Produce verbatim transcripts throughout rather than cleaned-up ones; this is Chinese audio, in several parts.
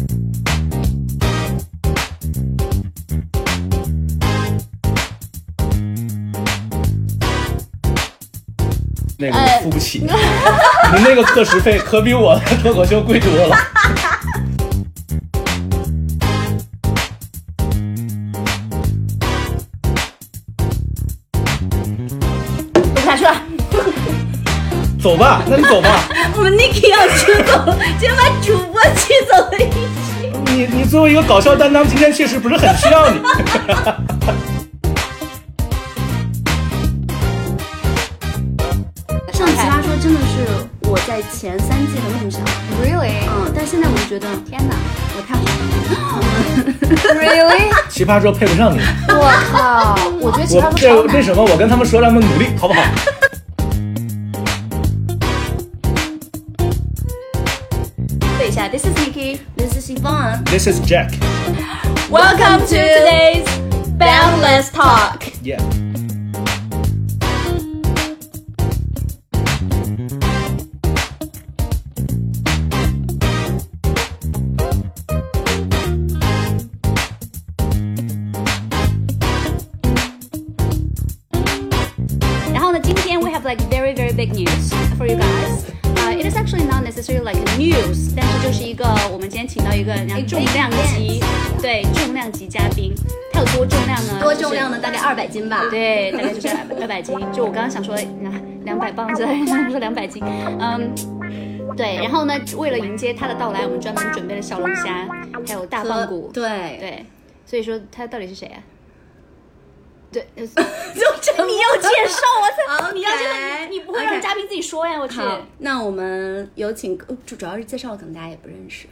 那个我付不起，你那个课时费可比我的脱口秀贵多了。 录不下去了， 走吧，那你走吧。 我们 Niki 要出走，今天把主播气走了一期。 你你作为一个搞笑担当，今天确实不是很需要你。 上奇葩说真的是我在前三季的梦想 ，Really？ 嗯，但现在我就觉得， 天哪， 我太好了。 Really？ 奇葩说配不上你。 我靠，我觉得奇葩说这超难。 为什么？我跟他们说，让他们努力，好不好？ 对一下 ，This is Niki, This is Yvonne, This is Jack. Welcome to today's Boundless Talk. Yeah. Like very very big news for you guys. Uh, it is actually not necessarily like news, 但是就是一个我们今天请到一个重量级，对重量级嘉宾。他有多重量呢？ 多重量呢？大概二百斤吧。 对，大概就是二百斤。就我刚刚想说两百磅，之类的，说两百斤。嗯，对。然后呢，为了迎接他的到来，我们专门准备了小龙虾，还有大棒骨。 对对，所以说他到底是谁啊？对，就这你要介绍我才， okay, 你要介绍，你不会让嘉宾自己说呀？我去。 好，那我们有请，主主要是介绍，可能大家也不认识。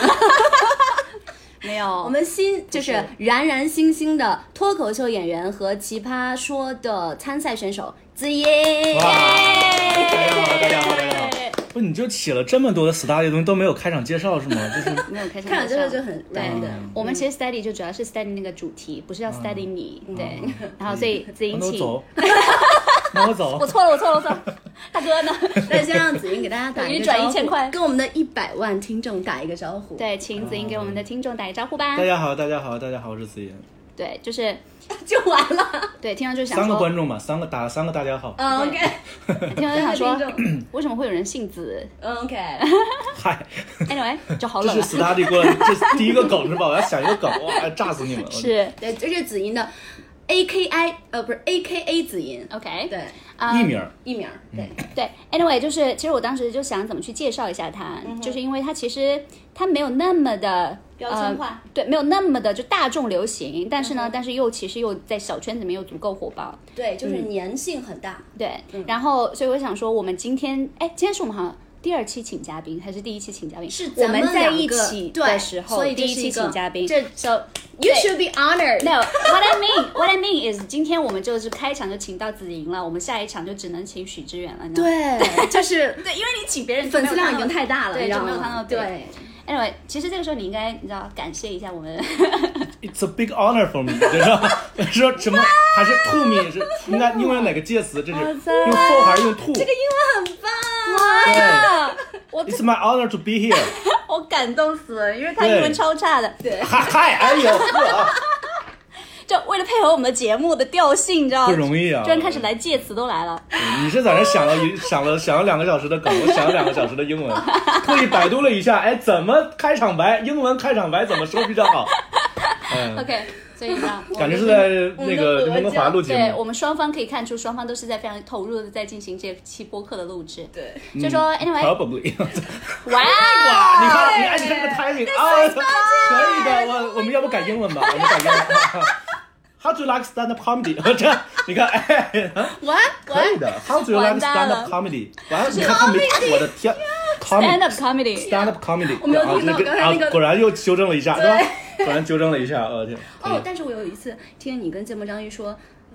没有， 我们新就是冉冉新兴的脱口秀演员和奇葩说的参赛选手子怡。 哇！大家好，大家好，大家好。不，你就起了这么多的 study 的东西都没有开场介绍是吗？就是没有开场介绍， 开场介绍就很 random。 嗯、我们其实 study 就主要是 study 那个主题，不是要 study 你。嗯、对，嗯、然后所以子怡请。 走。那我走。 我错了，我错了，我错了。大哥呢？ 那先让子怡给大家打一个招呼， 转一千块， 跟我们的一百万听众打一个招呼。 对，请子怡给我们的听众打一个招呼吧。 大家好，大家好，大家好，我是子怡。 对，就是就完了。 对，听众就想说三个观众嘛，三个打三个大家好。 嗯 ，OK。 听众就想说，为什么会有人姓子？ 嗯 ，OK。 嗨 ，Anyway， 就好冷。 这是 study 过来，这是第一个梗是吧？我要想一个梗，哇，炸死你们了。 是， 对，这是子怡的 A K I， 呃，不是 A K A 子怡 ，OK， 对， 艺名， 艺名，对对。Anyway， 就是其实我当时就想怎么去介绍一下他，嗯、就是因为他其实他没有那么的。 标签化、呃， 对，没有那么的就大众流行，但是呢，嗯、但是又其实又在小圈子里面又足够火爆， 对，就是粘性很大， 嗯、对、嗯。然后，所以我想说，我们今天，哎，今天是我们好像第二期请嘉宾，还是第一期请嘉宾？ 是我们在一起的时候，第一期请嘉宾。 这 so you should be honored. No, what I mean, what I mean is， 今天我们就是开场就请到子莹了，我们下一场就只能请许知远了。 对，就是对，因为你请别人粉丝量已经太大了， 对，就没有看到对。 Anyway， 其实这个时候你应该，你知道，感谢一下我们。 It's a big honor for me， 就是说什么还是 to me 是应该英文哪个介词？这是用 for 还是用 to？ 这个英文很棒啊！呀， 我 It's my honor to be here。 我感动死了，因为他英文超差的。 对， 嗨嗨，哎呦呵。 就为了配合我们的节目的调性，你知道吗？ 不容易啊！ 居然开始来介词都来了。 你是在那想了一想了想了两个小时的梗，我想了两个小时的英文，特意百度了一下，哎，怎么开场白？英文开场白怎么说比较好？ 嗯 OK， 所以呢， 感觉是在那个温哥华录节目。 对，我们双方可以看出，双方都是在非常投入的在进行这期播客的录制。 对， 就说 anyway， probably。 哇哇，你看，你看，你看这个 timing 啊，可以的，我我们要不改英文吧？我们改英文。How do you like stand-up comedy？ 这你看，哎 ，What？ 可以的。How do you like stand-up comedy？ 完，你看他没，我的天 ，stand-up comedy，stand-up comedy。 我没有听到刚才那个， 果然又纠正了一下，是吧？果然纠正了一下，我天。 哦，但是我有一次听你跟芥末章鱼说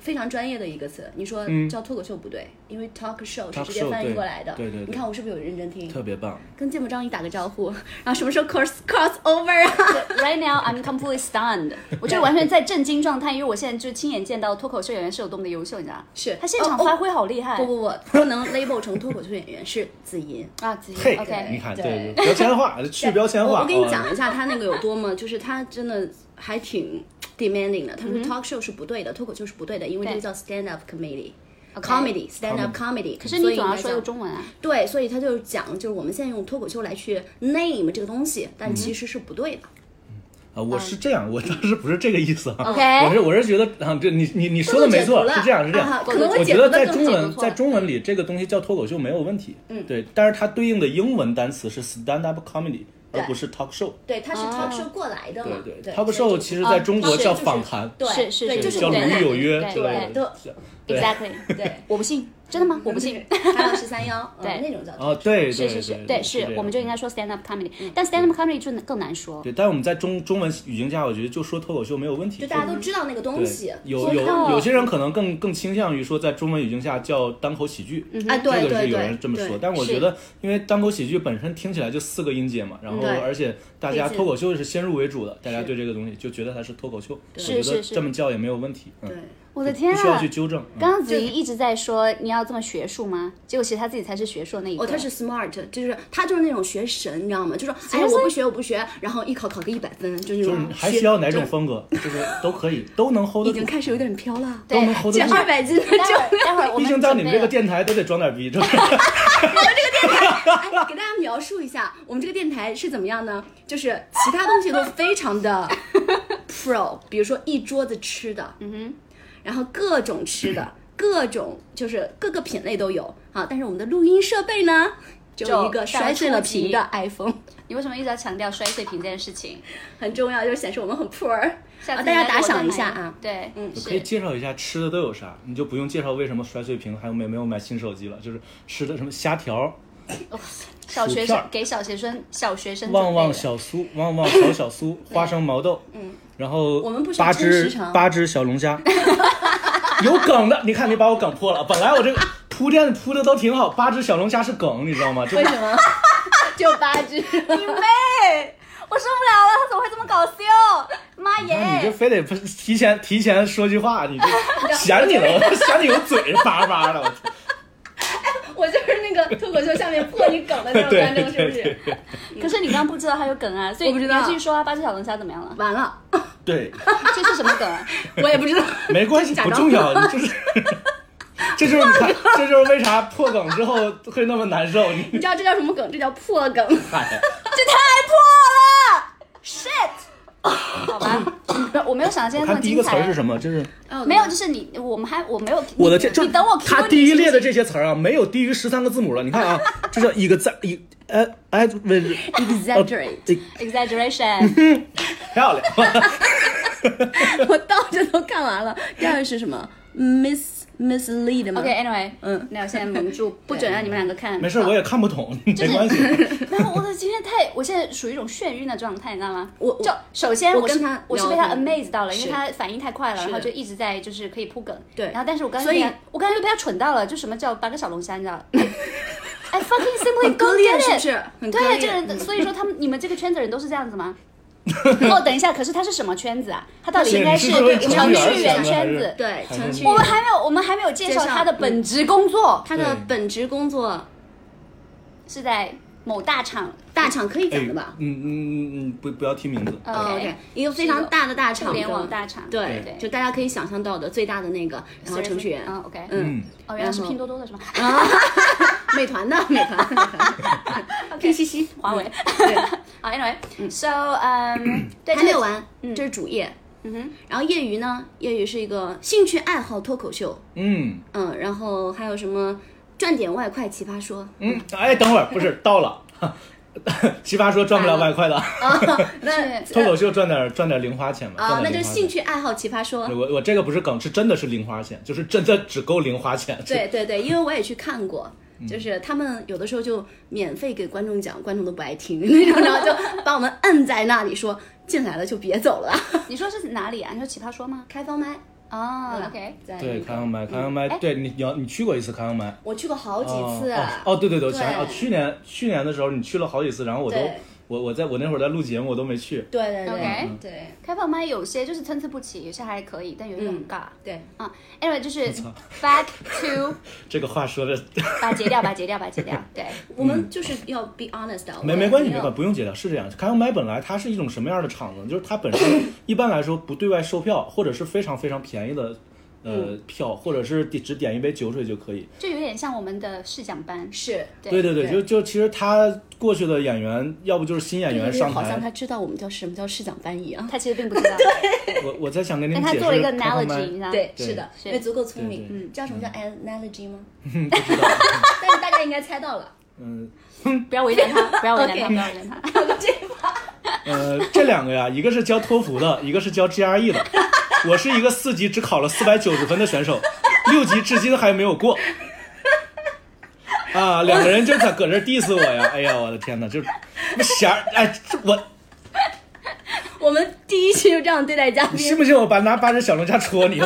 非常专业的一个词，你说叫脱口秀不对，因为 talk show 是直接翻译过来的。 对对对， 你看我是不是有认真听？ 特别棒。 跟芥末章鱼打个招呼，然后什么时候 cross cross over 啊 ？Right now I'm completely stunned。我觉得完全在震惊状态，因为我现在就亲眼见到脱口秀演员是有多么的优秀，你知道吗？ 是他现场发挥好厉害。 不不不，不能 label 成脱口秀演员，是子吟啊，子吟。 嘿 OK， 你看，对标签化，去标签化。 我我跟你讲一下他那个有多么，就是他真的还挺 demanding 的。他说 talk show 是不对的，脱口秀是不对的，因为这个叫 stand up comedy。comedy stand up comedy， 可是你总要说一个中文啊。 对，所以他就讲，就是我们现在用脱口秀来去 name 这个东西，但其实是不对的。 啊，我是这样，我当时不是这个意思啊。 OK， 我是我是觉得啊，这你你你说的没错，是这样是这样。我觉得在中文在中文里这个东西叫脱口秀没有问题，嗯，对，但是它对应的英文单词是 stand up comedy。而不是 talk show， 对，它是 talk show 过来的嘛。 对对 ，talk show 其实在中国叫访谈， 对， 是是是， 就是叫鲁豫有约之类的。 Exactly， 对，我不信，真的吗？我不信。 还有十三幺， 对那种叫哦，对， 是是是，对是，我们就应该说 stand up comedy， 但 stand up comedy 就更难说。 对，但我们在中中文语境下，我觉得就说脱口秀没有问题， 就大家都知道那个东西。 有有有些人可能更更倾向于说，在中文语境下叫单口喜剧， 啊，对这个是有人这么说，但我觉得，因为单口喜剧本身听起来就四个音节嘛，然后而且大家脱口秀是先入为主的，大家对这个东西就觉得它是脱口秀，我觉得这么叫也没有问题。 对。 我的天啊！ 不需要去纠正。 刚刚子怡一直在说你要这么学术吗？结果其实他自己才是学术那一个。 哦，他是 smart， 就是他就是那种学神，你知道吗？就说哎，我不学，我不学，然后艺考考个一百分，就那种。 就是还需要哪种风格，就是都可以，都能 hold 得住。 已经开始有点飘了， 都能 hold 得住。 减二百斤的就。 待会儿我们毕竟在你们这个电台都得装点逼，是吧？ 我们这个电台，哎，给大家描述一下，我们这个电台是怎么样呢？就是其他东西都非常的 pro， 比如说一桌子吃的，嗯哼。然后各种吃的，各种就是各个品类都有啊。但是我们的录音设备呢，就一个摔碎了屏的 iPhone。 你为什么一直要强调摔碎屏这件事情？ 很重要，就是显示我们很 poor。啊，大家打赏一下啊！ 对， 嗯， 可以介绍一下吃的都有啥，你就不用介绍为什么摔碎屏，还有没没有买新手机了，就是吃的什么虾条。 哦、小学生给小学生小学生旺旺小酥，旺旺小小酥，花生毛豆， 嗯， 然后我们不是八只八只小龙虾，有梗的，你看你把我梗破了。本来我这个铺垫铺的都挺好，八只小龙虾是梗，你知道吗？ 为什么？就八只？你妹！我受不了了，他怎么会这么搞笑？妈耶！ 你就非得提前提前说句话，你就想你了，我想你有嘴叭叭的，我操！ 我就是那个脱口秀下面破你梗的那种观众，是不是？ 可是你刚刚不知道他有梗啊，所以我不知道。 你继续说啊，八只小龙虾怎么样了？ 完了。 对。 这是什么梗啊？ 我也不知道。 没关系，不重要，你就是。这就是你看，这就是为啥破梗之后会那么难受。你你知道这叫什么梗？这叫破梗。 嗨， 这太破了 ，shit！ 好吧，我没有想到今天这么精彩。 看第一个词儿是什么？就是、 哦、没有，就是你，我们还我没有。 我的天， 你等我。 他第一列的这些词儿啊，没有低于十三个字母了。你看啊，这叫一个在一呃哎不是 exaggerate exaggeration， 漂亮。 我倒着都看完了。第二个是什么 ？Miss mislead 吗 ？OK，anyway，、okay, 嗯， 那我现在蒙住，不准让你们两个看。 没事，我也看不懂，没关系。 然后我的今天太，我现在属于一种眩晕的状态，你知道吗？ 我就首先我跟他， 我是被他 amaze 到了，因为他反应太快了，然后就一直在就是可以铺梗。 对。 然后但是我刚才所以我刚才就被他蠢到了，就什么叫八个小龙虾，你知道？I fucking simply don't get it， 是不是？ 对，这个人，所以说他们你们这个圈子人都是这样子吗？哦，等一下，可是他是什么圈子啊？他到底应该是程序员圈子， 对，程序员。 我们还没有，我们还没有介绍他的本职工作。 他的本职工作是在某大厂， 大厂可以讲的吧？ 嗯嗯嗯，不不要提名字。 哦 OK， 一个非常大的大厂， 互联网大厂， 对对，就大家可以想象到的最大的那个，然后程序员。 啊 OK， 嗯， 哦，原来是拼多多的是吗？ 啊，美团的，美团，美团。P C C， 华为。 对。 好 ，Anyway，so， 嗯，对， 还没有完，这是主业。嗯哼，然后业余呢？业余是一个兴趣爱好脱口秀。 嗯嗯，然后还有什么赚点外快奇葩说？ 嗯，哎，等会儿不是到了，奇葩说赚不了外快的。啊， 那脱口秀赚点赚点零花钱嘛。 啊，那就是兴趣爱好奇葩说。 我我这个不是梗，是真的是零花钱，就是真的只够零花钱。 对对对，因为我也去看过。就是他们有的时候就免费给观众讲，观众都不爱听那种，然后就把我们摁在那里说进来了就别走了。 你说是哪里啊？你说奇葩说吗？ 开放麦哦 ，OK， 对，开放麦，开放麦，对你你你去过一次开放麦？ 我去过好几次。 哦，哦对对对，我想想，哦，去年去年的时候你去了好几次，然后我都。我我在我那会儿在录节目，我都没去。 对对对 ，OK， 对， 开放麦有些就是参差不齐，有些还可以，但有些很尬。 对啊 ，anyway 就是 back to 这个话说的， 把它截掉，把它截掉，把它截掉。对， 我们就是要 be honest 的。 没没关系，没关系，不用截掉，是这样。开放麦本来它是一种什么样的场子？就是它本身一般来说不对外售票，或者是非常非常便宜的。呃，票或者是只点一杯酒水就可以， 就有点像我们的试讲班， 是， 对对对，就就其实他过去的演员，要不就是新演员上台， 好像他知道我们叫什么叫试讲班一样， 他其实并不知道。 对，我我在想跟你解释， 但他做了一个 analogy， 你知道？ 对，是的，因为足够聪明。 嗯， 知道什么叫 analogy 吗？ 不知道， 但是大家应该猜到了。 嗯， 不要为难他，不要为难他，不要为难他。 搞个这把。 呃，这两个呀，一个是教托福的，一个是教 G R E 的。我是一个四级只考了四百九十分的选手，六级至今还没有过。啊，两个人就在搁这 diss 我呀！哎呀，我的天哪，就是瞎哎，我我们第一期就这样对待嘉宾， 你信不信我把拿八只小龙虾戳你？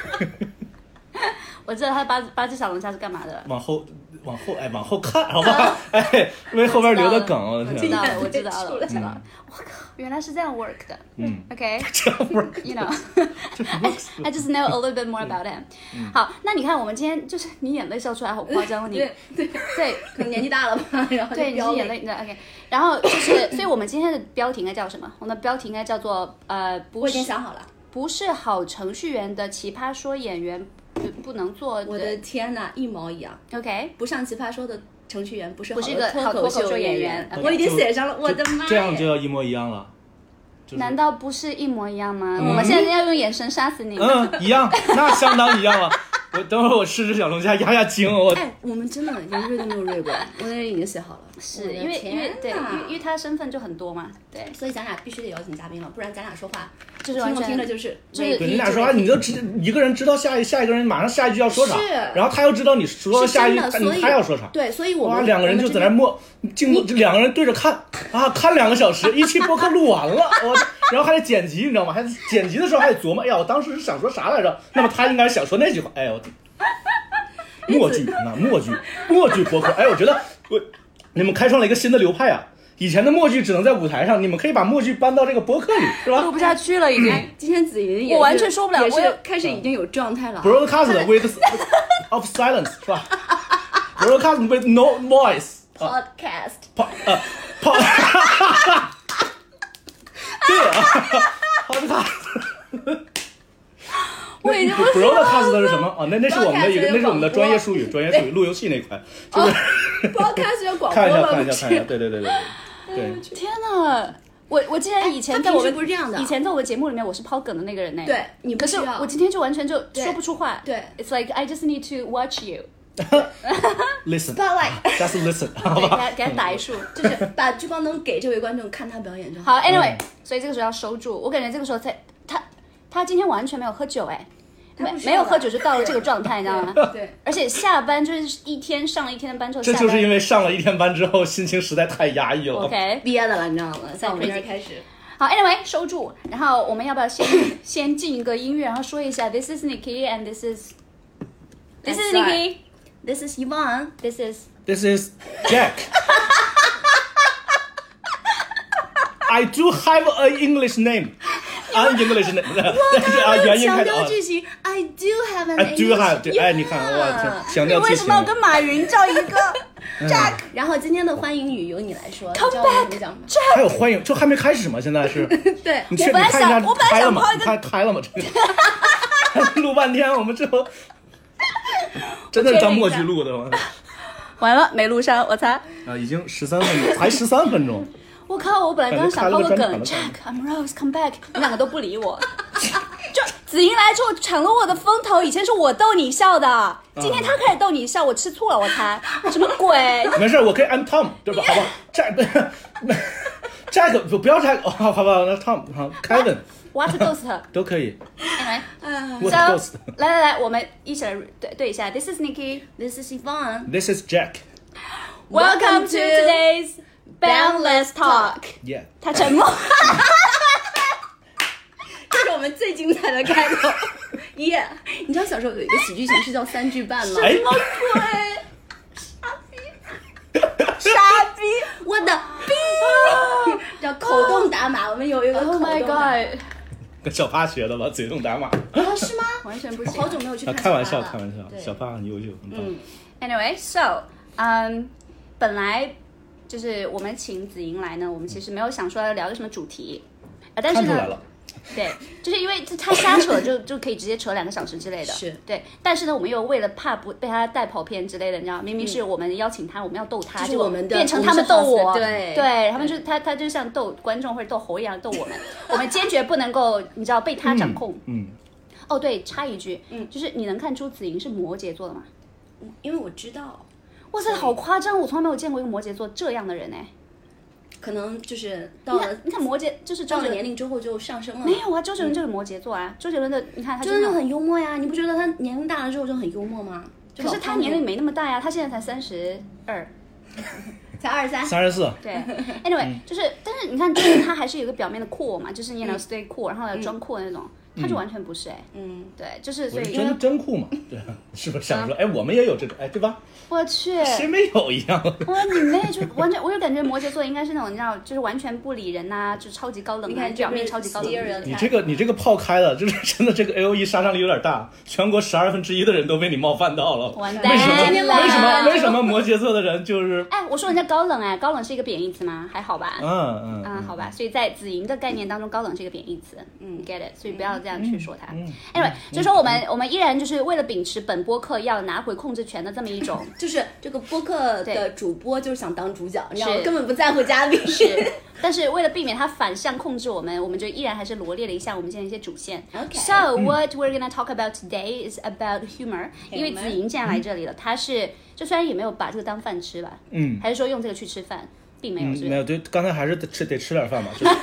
我知道他八八只小龙虾是干嘛的。 往后，往后，哎，往后看，好吧？哎，因为后边留的梗，我知道了，我知道了，我知道了。我靠，原来是这样 work 的。 嗯 ，OK， 这样 work，you know， I just know a little bit more about him。好，那你看我们今天就是你眼泪笑出来好夸张，你对对对， 可能年纪大了吧，然后对，你是眼泪，对 OK。然后就是，所以我们今天的标题应该叫什么？我们的标题应该叫做呃，不我已经想好了， 不是好程序员的奇葩说演员。不能做， 我的天哪，一毛一样。 OK， 不上奇葩说的程序员不是不是一个好脱口秀演员。 我已经写上了，我的妈！ 这样就要一模一样了。 难道不是一模一样吗？我们现在要用眼神杀死你。 嗯，一样，那相当一样了。我等会儿我吃只小龙虾压压惊。我哎，我们真的连瑞都没有瑞过，我那已经写好了。 是因为因为对，因为因为他身份就很多嘛，对， 所以咱俩必须得邀请嘉宾了，不然咱俩说话就是完全听着就是就是对你俩说话，你就知一个人知道下一下一个人马上下一句要说啥，然后他又知道你说下一句他要说啥， 对，所以我们两个人就在那默静默，两个人对着看啊，看两个小时，一期播客录完了，我然后还得剪辑，你知道吗？还剪辑的时候还得琢磨，哎呀，我当时是想说啥来着？那么他应该想说那句话，哎呦。默剧，那默剧，默剧播客，哎，我觉得我你们开创了一个新的流派啊！以前的默剧只能在舞台上，你们可以把默剧搬到这个播客里，是吧？ 录不下去了，已经。 今天子怡也我完全说不了， 也是开始已经有状态了。 Broadcast with of silence 是吧 ？Broadcast with no voice。 Podcast。 呃 pod。对啊 ，Podcast。 我已经不知道 broadcast 是什么啊？那那是我们的一个，那是我们的专业术语，专业术语，录游戏那一块，就是 broadcast 要广播吗？ 看一下，看一下，看一下，对对对对对。 天哪！我我竟然以前在我们不是这样的， 以前在我的节目里面我是抛梗的那个人呢。 对，你可是我今天就完全就说不出话。 对 ，It's like I just need to watch you. Listen, just listen， 好吧？ 给他打一束， 就是把聚光灯给这位观众看他表演就好。好 ，Anyway，、嗯、所以这个时候要收住。我感觉这个时候才他他今天完全没有喝酒哎。没没有喝酒就到了这个状态，你知道吗？ 对， 而且下班就是一天上了一天的班之后， 这就是因为上了一天班之后，心情实在太压抑了。 OK， 憋的了，你知道吗？在我们这儿开始。 好 ，Anyway， 收住。然后我们要不要先先进一个音乐，然后说一下 This is Nikki and this is This is Nikki, This is Yvonne, This is This is Jack. I do have an English name. An English name. 啊，强调句型 I do have an I do have. 对，哎，你看，我强调句型。 你为什么要跟马云叫一个 Jack？ 然后今天的欢迎语由你来说。 Come back, Jack。 还有欢迎，就还没开始吗？现在是。 对。 你确定看一下开了吗？你看开了吗？这个。录半天，我们最后真的是当默剧录的吗？ 完了，没录上，我猜。 啊，已经十三分钟，才十三分钟。 我靠！我本来刚刚想抛个梗 ，Jack, I'm Rose, come back， 你两个都不理我。就子莹来之后抢了我的风头，以前是我逗你笑的，今天他开始逗你笑，我吃醋了，我猜。什么鬼？ 没事，我可以按 Tom， 对吧？好吧 ，Jack，Jack 不不要 Jack， 哦，好吧，那 Tom， 好 ，Kevin。What Ghost 都可以。 Anyway， so 来来来，我们一起来对对一下。This is Nikki, This is Yvonne, This is Jack. Welcome to today's Boundless Talk. Yeah. 他沉默。 这是我们最精彩的开头。 耶！你知道小时候有一个喜剧形式叫三句半吗？ 哎， 哦对，傻逼，傻逼，我的逼，叫口动打码。我们有一个口动 ，Oh my god， 跟小帕学的吧，嘴动打码。 啊，是吗？ 完全不行。 好久没有去看、 啊。开玩笑，开玩笑，小帕很优秀，很棒。 嗯 ，Anyway，so， 嗯，本来就是我们请子莹来呢，我们其实没有想说要聊个什么主题，啊，但是呢。对，就是因为他瞎扯就就可以直接扯两个小时之类的， 是对。但是呢，我们又为了怕不被他带跑偏之类的，你知道，明明是我们邀请他，我们要逗他， 就我们的变成他们逗我， 对对，他们就他他就像逗观众或者逗猴一样逗我们，我们坚决不能够，你知道被他掌控。 嗯。 哦，对，插一句，嗯，就是你能看出子莹是摩羯座的吗？ 因为我知道。 哇塞，好夸张！我从来没有见过一个摩羯座这样的人哎。 可能就是到了， 你看摩羯，就是到了年龄之后就上升了。 没有啊，周杰伦就是摩羯座啊。周杰伦的，你看他周杰伦很幽默呀，你不觉得他年龄大了之后就很幽默吗？ 可是他年龄没那么大呀，他现在才三十二， 才二十三， 三十四。 对 ，anyway， 就是，但是你看，就是他还是有一个表面的cool嘛，就是你 know stay cool，然后要装酷的那种。他就完全不是哎，嗯，对，就是所以真真酷嘛，对，是不是想说，哎，我们也有这种，哎，对吧？ 我去， 谁没有一样？ 我你妹就完全，我就感觉摩羯座应该是那种你知道，就是完全不理人呐，就超级高冷， 你看表面超级高冷。 你这个你这个炮开了，就是真的这个 A O E 杀伤力有点大，全国十二分之一的人都被你冒犯到了。 完蛋， 为什么？为什么？为什么摩羯座的人就是？ 哎，我说人家高冷哎，高冷是一个贬义词吗？还好吧。 嗯嗯嗯，好吧，所以在子莹的概念当中，高冷是一个贬义词。嗯 ，get it， 所以不要这样去说它。Anyway， 所以说我们我们依然就是为了秉持本播客要拿回控制权的这么一种， 就是这个播客的主播就是想当主角，你知道吗？根本不在乎嘉宾。 是，但是为了避免他反向控制我们，我们就依然还是罗列了一下我们现在一些主线。 Okay. So what we're gonna talk about today is about humor。因为子莹既然来这里了，他是就虽然也没有把这个当饭吃吧，嗯，还是说用这个去吃饭，并没有，是不是？ 没有，对，刚才还是得吃得吃点饭嘛，就是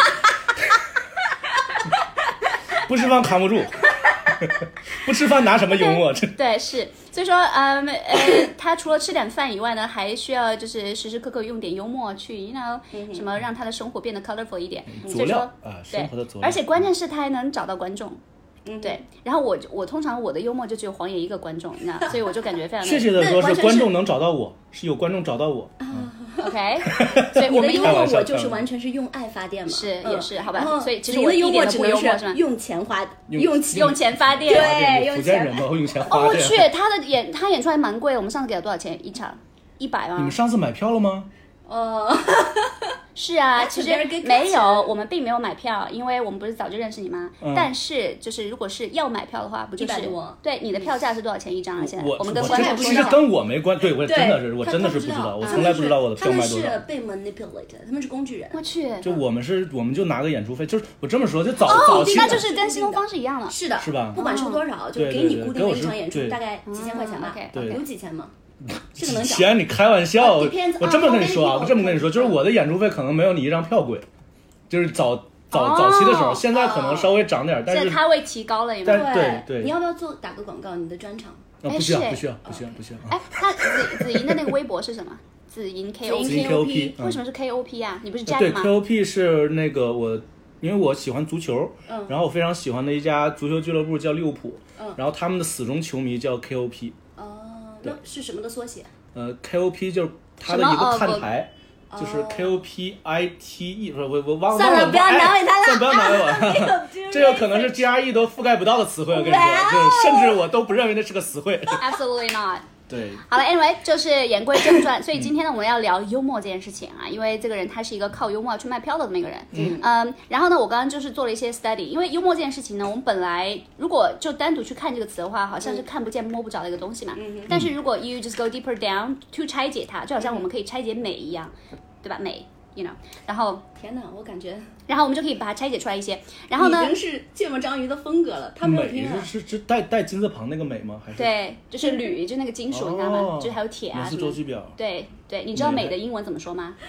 不吃饭扛不住。不吃饭拿什么幽默？ 对，是，所以说，嗯呃，他除了吃点饭以外呢，还需要就是时时刻刻用点幽默去 ，you know，、嗯、什么让他的生活变得 colorful 一点。 佐料啊，生活的佐料。 而且关键是他还能找到观众。嗯，对。然后我我通常我的幽默就只有黄爷一个观众，你知道，所以我就感觉非常的。 确切的说是观众能找到我，是有观众找到我。 嗯 OK， 所以我们幽默我就是完全是用爱发电嘛， 是也是好吧，所以其实我的幽默只能是用钱花， 用用钱发电， 对，用钱人嘛，用钱花电。 哦，我去，他的演他演出来蛮贵的，我们上次给他多少钱一场？一百吗？ 你们上次买票了吗？ 呃， 是啊，其实没有，我们并没有买票，因为我们不是早就认识你吗？嗯、但是就是如果是要买票的话，不就是对你的票价是多少钱一张啊？现在我我们跟观众其实跟我没关，对我真的是我真的是不知道，我从来不知道我的票卖多少。 他们是被 manipulate， 他们是工具人。 我去， 就我们是我们就拿个演出费，就是我这么说，就早哦， 早期那就是跟新东方是一样的， 是的， 是吧？ 不管收多少，就给你固定的一场演出，大概几千块钱吧，有几千吗？这个能讲？ 钱你开玩笑，我这么跟你说啊，我这么跟你说，就是我的演出费可能没有你一张票贵，就是早早早期的时候，现在可能稍微涨点，但是它会提高了，因为对对， 你要不要做打个广告？你的专场？ 不需要不需要不需要不需要。 哎，他子子莹的那个微博是什么？子莹 K O P， 为什么是 K O P 啊？你不是 Jack 吗？ 对 ，K O P 是那个我，因为我喜欢足球，然后我非常喜欢的一家足球俱乐部叫利物浦，然后他们的死忠球迷叫 K O P。 哦，那是什么的缩写？ 呃 ，K O P 就是它的一个看台，就是 K O P I T E， 不是我我忘了。 算了，不要难为他了。 算了，不要难为我。这个可能是 G R E 都覆盖不到的词汇，我跟你说，就是甚至我都不认为那是个词汇。 Absolutely not。 对， 好了 ，anyway， 就是言归正传，所以今天呢，我们要聊幽默这件事情啊，因为这个人他是一个靠幽默去卖票的这么一个人，嗯嗯，然后呢，我刚刚就是做了一些 study， 因为幽默这件事情呢，我们本来如果就单独去看这个词的话，好像是看不见摸不着的一个东西嘛，嗯、但是如果 you just go deeper down to 拆解它，就好像我们可以拆解美一样，对吧？美。You know， 然后天哪，我感觉， 然后我们就可以把它拆解出来一些。然后呢， 已经是芥末章鱼的风格了。他没有听啊。 是是是带带金字旁那个美吗？还是？ 对，就是铝，就那个金属，哦、你知道吗？就是还有铁啊什么。 周期表。 对对，你知道美的英文怎么说吗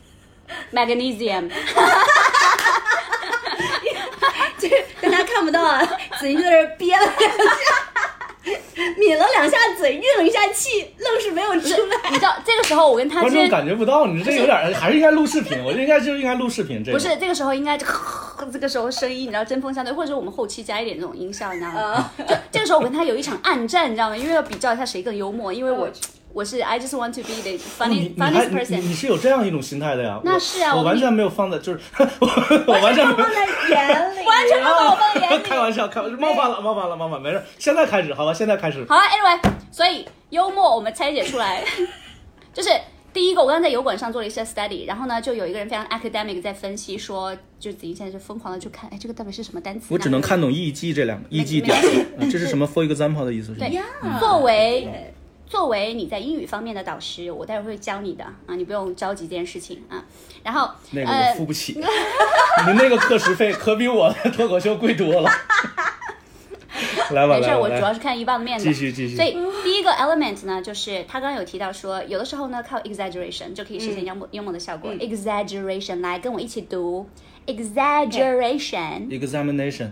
？Magnesium。 就是大家看不到啊，子怡在这憋了两下。 抿了两下嘴，运了一下气，愣是没有出来。 你知道这个时候我跟他观众感觉不到，你这有点还是应该录视频，我这应该就应该录视频。这不是这个时候应该就这个时候声音你知道针锋相对，或者是我们后期加一点这种音效，你知道吗？就这个时候我跟他有一场暗战，你知道吗？因为要比较一下谁更幽默，因为我。我是 I just want to be the funny、哦、funniest person 你。你是有这样一种心态的呀？ 那是啊， 我, 我完全没有放在，就是我我完全没有放在眼里， 完全没有放在眼里。 开玩笑，开玩笑，冒犯了，冒犯了，冒犯，没事。现在开始，好吧，现在开始。 好了 ，anyway， 所以幽默我们拆解出来，就是第一个，我刚刚在油管上做了一些 study， 然后呢，就有一个人非常 academic 在分析说，就子怡现在就疯狂的去看，哎，这个到底是什么单词？ 我只能看懂 E G 这两个 E G 点，这是什么 for example 的意思？是对，作为。作为你在英语方面的导师，我待会儿会教你的啊，你不用着急这件事情啊。然后那个我付不起，呃、你那个课时费可比我的脱口秀贵多了。来吧， 没事，我主要是看一棒的面子。 继续继续。 所以第一个 element 呢，就是他刚刚有提到说，有的时候呢靠 exaggeration 就可以实现幽默、嗯、幽默的效果。嗯、exaggeration， 来跟我一起读 exaggeration。examination。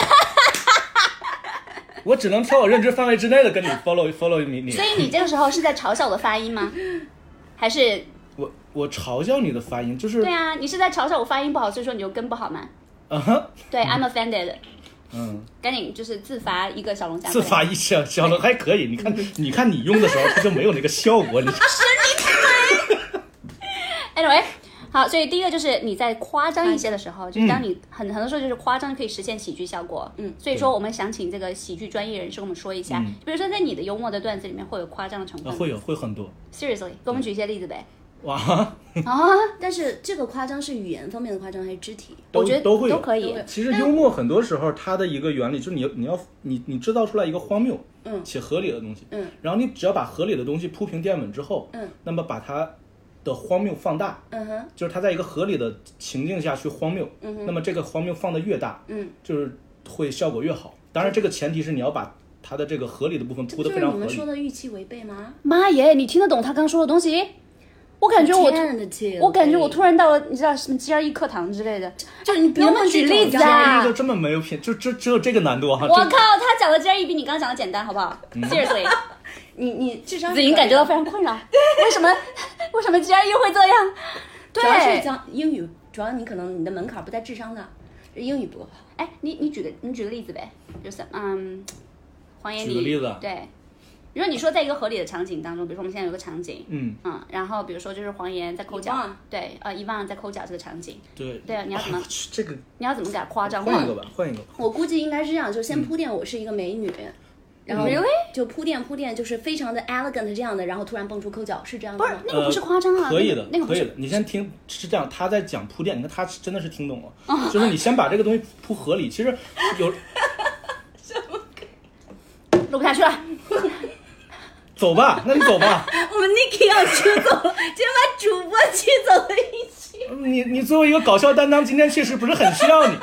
我只能挑我认知范围之内的跟你 follow follow 你你。 所以你这个时候是在嘲笑我的发音吗？还是我我嘲笑你的发音？就是对啊，你是在嘲笑我发音不好，所以说你就跟不好吗？ 嗯哼。 对、嗯、，I'm offended。 嗯。赶紧就是自罚一个小龙虾。 自罚一小小龙还可以，你看你看你用的时候它就没有那个效果，你。 是你太。Anyway。好，所以第一个就是你在夸张一些的时候，就是当你很很多时候就是夸张可以实现喜剧效果。嗯，所以说我们想请这个喜剧专业人士跟我们说一下，嗯、比如说在你的幽默的段子里面会有夸张的成分、 啊，会有会很多。 Seriously， 给我们举一些例子呗。 哇啊！但是这个夸张是语言方面的夸张还是肢体？ 我觉得都会都可以。 其实幽默很多时候它的一个原理就是你你要你你制造出来一个荒谬嗯且合理的东西， 嗯， 然后你只要把合理的东西铺平垫稳之后， 嗯， 那么把它的荒谬放大， 嗯哼， 就是它在一个合理的情境下去荒谬， 嗯哼， 那么这个荒谬放得越大， 嗯， 就是会效果越好。当然，这个前提是你要把它的这个合理的部分铺得非常合理。 这就是你们说的预期违背吗？ 妈耶，你听得懂他刚说的东西？我感觉我，我感觉我突然到了，你知道什么 G R E 课堂之类的， 就是你不能不能举例子啊？就这么没有品，就只只有这个难度啊！ 我靠，他讲的 G R E 比你刚刚讲的简单，好不好、嗯、？Seriously， 你你智商子莹感觉到非常困扰，为什么为什么 G R E 会这样？对， 主要是讲英语，主要你可能你的门槛不在智商的，英语不够好。 哎，你你举个你举个例子呗，就是嗯，黄岩， 举个例子， 对。如果你说在一个合理的场景当中，比如说我们现在有个场景， 嗯嗯，然后比如说就是黄岩在抠脚，对，呃，伊万在抠脚这个场景， 对， 对啊，你要怎么、 啊、这个你要怎么给它夸张？ 换一个吧，换一个吧。 我估计应该是这样，就先铺垫我是一个美女，嗯、然后就铺垫铺垫，就是非常的 elegant 这样的，然后突然蹦出抠脚，是这样的吗？ 不是，那个不是夸张啊， 呃、可以的， 那个不是可以的。你先听，是这样，他在讲铺垫，你看他真的是听懂了，哦、就是你先把这个东西铺合理，其实有什么录不下去了。 走吧，那你走吧。 我们 Niki 要出走了，今天把主播气走了一起。 你你作为一个搞笑担当，今天确实不是很需要你。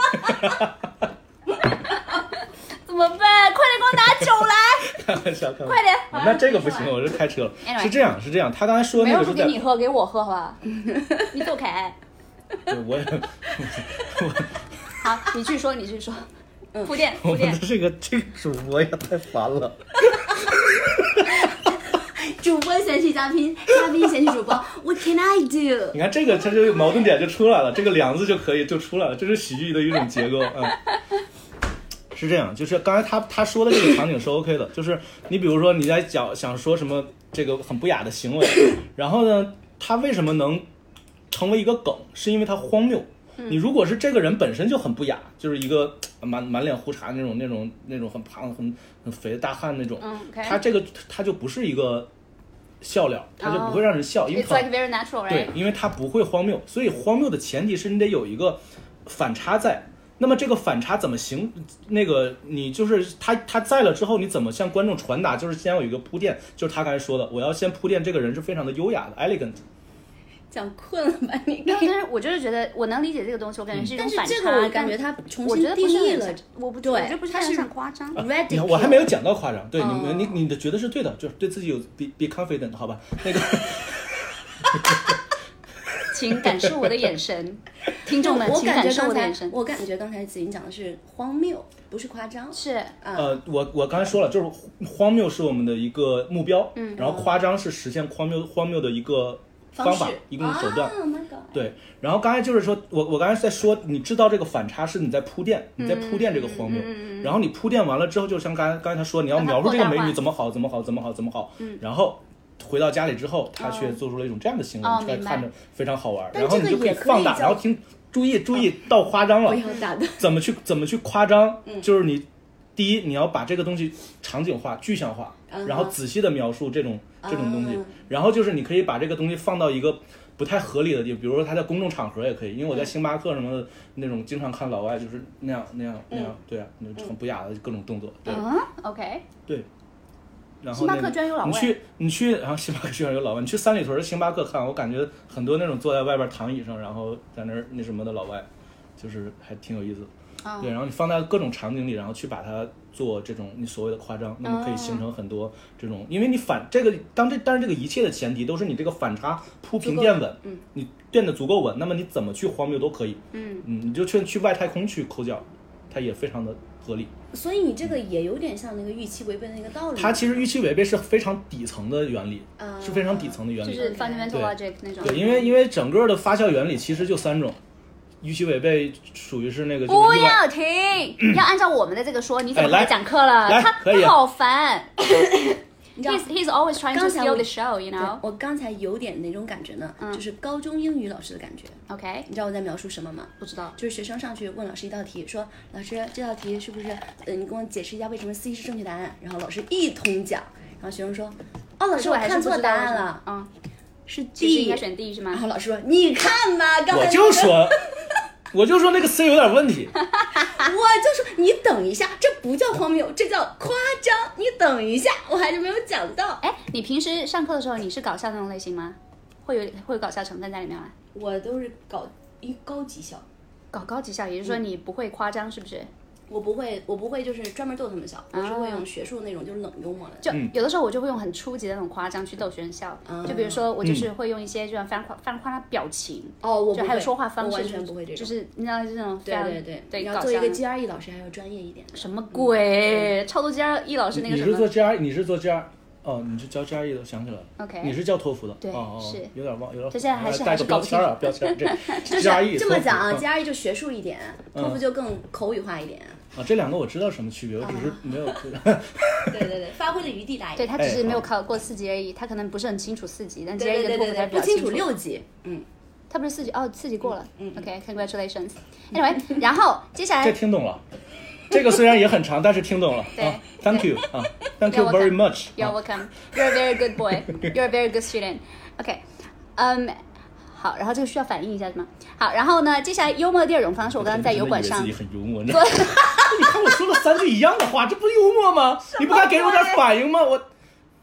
怎么办？快点给我拿酒来！ 开玩笑，开玩笑。 快点！ 啊、那这个不行，我是开车了。是这样，是这样。他刚才说那个是在没有给你喝，给我喝好吧？你走开。 对，我也。 好，你继续说，你继续说。铺垫，铺垫。 我们的这个这个主播也太烦了。 主播嫌弃嘉宾，嘉宾嫌弃主播 ，What can I do？ 你看这个，它就矛盾点就出来了，这个梁子就可以就出来了，这是喜剧的一种结构啊、嗯。是这样，就是刚才他他说的这个场景是 OK 的，就是你比如说你在讲想说什么这个很不雅的行为，然后呢，他为什么能成为一个梗，是因为他荒谬。你如果是这个人本身就很不雅，就是一个满满脸胡茬那种那种那种很胖很很肥的大汉那种， 嗯 okay. 他这个他就不是一个笑料，他就不会让人笑， oh, 因为 it's like very natural, right? 对，因为他不会荒谬，所以荒谬的前提是你得有一个反差在。那么这个反差怎么行？那个你就是他他在了之后，你怎么向观众传达？就是先有一个铺垫，就是他刚才说的，我要先铺垫这个人是非常的优雅的 elegant。 讲困了吧你？ 但是我就是觉得我能理解这个东西，我感觉是一种反差。 但是这个我感觉他重新定义了， 我不对， 我觉得不是很夸张。 你看我还没有讲到夸张，对、哦、你你你的觉得是对的，就是对自己有 be be confident， 好吧？那个， 请感受我的眼神。 听众们我请感受感觉刚才我的眼神。 我感觉刚才子莹讲的是荒谬，不是夸张。 是， 呃，我我刚才说了，就是荒谬是我们的一个目标，嗯，然后夸张是实现荒谬荒谬的一个方法，一个手段。 Oh my God 对，然后刚才就是说我我刚才在说，你知道这个反差是你在铺垫，你在铺垫这个荒谬，嗯、然后你铺垫完了之后，就像刚才刚才他说，你要描述这个美女怎么好，怎么好，怎么好，怎么好，嗯，然后。回到家里之后，他却做出了一种这样的行为， 哦、 出来看着非常好玩， 然后你就可以放大，然后听，注意注意到夸张了， 不要打的， 怎么去怎么去夸张？嗯、就是你第一，你要把这个东西场景化、具象化，嗯、然后仔细的描述这种、嗯、这种东西，然后就是你可以把这个东西放到一个不太合理的地方，比如说他在公众场合也可以，因为我在星巴克什么的那种经常看老外就是那样那样那样，对啊，那很不雅的各种动作，对、 嗯、，OK， 对。然后星巴克居然有老外， 你去你去，然后星巴克居然有老外，你去三里屯的星巴克看，我感觉很多那种坐在外边躺椅上，然后在那儿那什么的老外，就是还挺有意思的。Oh. 对，然后你放在各种场景里，然后去把它做这种你所谓的夸张，那么可以形成很多这种， oh. 因为你反这个当这但是这个一切的前提都是你这个反差铺平垫稳，嗯，你垫得足够稳，那么你怎么去荒谬都可以，嗯嗯，你就去去外太空去抠脚，它也非常的合理。 所以你这个也有点像那个预期违背的那个道理。 它其实预期违背是非常底层的原理，呃、是非常底层的原理， 就是 fundamental logic 那种。 对，因为因为整个的发酵原理其实就三种，预期违背属于是那个。 不要停，要按照我们的这个说，你怎么来讲课了？ 来， 他可以好烦。 你知道 he's he's always trying to steal the show, you know。 我刚才有点那种感觉呢，嗯、就是高中英语老师的感觉。 OK， 你知道我在描述什么吗？ 不知道。 就是学生上去问老师一道题，说老师这道题是不是？呃，你跟我解释一下为什么 C 是正确答案。然后老师一通讲，然后学生说，哦，老师我看错答案了， 嗯， 是 D， 应该选 D 是吗？ 然后老师说，你看吧，刚才、那个、 我就说。我就说那个 C 有点问题， 我就说你等一下，这不叫荒谬，这叫夸张。你等一下，我还是没有讲到。 哎，你平时上课的时候你是搞笑那种类型吗？会有会有搞笑成分在里面吗？ 我都是搞一高级笑， 搞高级笑，也就是说你不会夸张，是不是？ 我不会，我不会就是专门逗他们笑，我是会用学术那种就是冷幽默的。 就有的时候我就会用很初级的那种夸张去逗学生笑，嗯、就比如说我就是会用一些这种非常夸非常夸张表情， 哦，我就还有说话方式， 完全不会这种， 就是你知道这种对对对对， 你要做一个 G R E 老师还要专业一点。 什么鬼？超多 G R E 老师那个什么？ 你是做 G R E， 你是做 G R。哦，你是教 G R E 的，想起来了。 OK， 你是教托福的。 对， 哦哦， 是有点忘，有点。 这现在还是带个标签啊，标签这 G R E 这么讲啊 ，G R E 就学术一点，托福就更口语化一点。 啊，这两个我知道什么区别，我只是没有。 对对对，发挥的余地大一点。 对他只是没有考过四级而已，他可能不是很清楚四级，但 G R E 跟托福才比较清楚。不清楚六级，嗯。 他不是四级哦，四级过了。嗯 OK，congratulations。Anyway， 然后接下来。 这听懂了。这个虽然也很长，但是听懂了。 对、 啊、，Thank you 啊 ，Thank you very much. You're welcome. You're a very good boy. You're a very good student. OK， 嗯、um, ，好，然后这个需要反应一下是吗？好，然后呢，接下来幽默的第二种方式，我刚刚在油管上。 自己很幽默，你看我说了三句一样的话，这不是幽默吗？你不该给我点反应吗？我。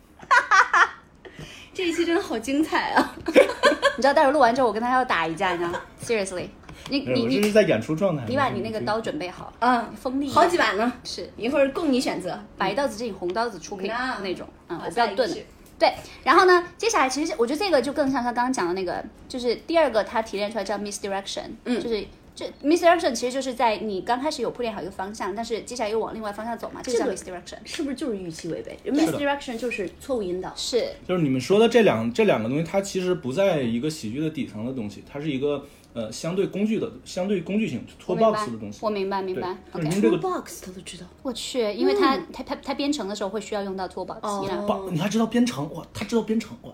这一期真的好精彩啊！ 你知道待会儿录完之后，我跟他要打一架，你知道 ？Seriously。你你你是在演出状态， 你把你那个刀准备好， 嗯， 锋利， 好几把呢， 是一会儿供你选择， 白刀子进红刀子出可以那种，嗯，我不要钝的。对，然后呢，接下来其实我觉得这个就更像他刚刚讲的那个，就是第二个他提炼出来叫 misdirection， 嗯，就是这 misdirection 其实就是在你刚开始有铺垫好一个方向，但是接下来又往另外方向走嘛，这个叫 misdirection， 是不是就是预期违背 ？misdirection 就是错误引导， 是， 就是你们说的这两这两个东西，它其实不在一个喜剧的底层的东西，它是一个。呃，相对工具的、相对工具性 toolbox 的东西， 我明白，明白。 OK， 这个 toolbox 他都知道。 我去，因为他、嗯、他他他编程的时候会需要用到 toolbox。 哦， 你还知道编程？哇，他知道编程哇！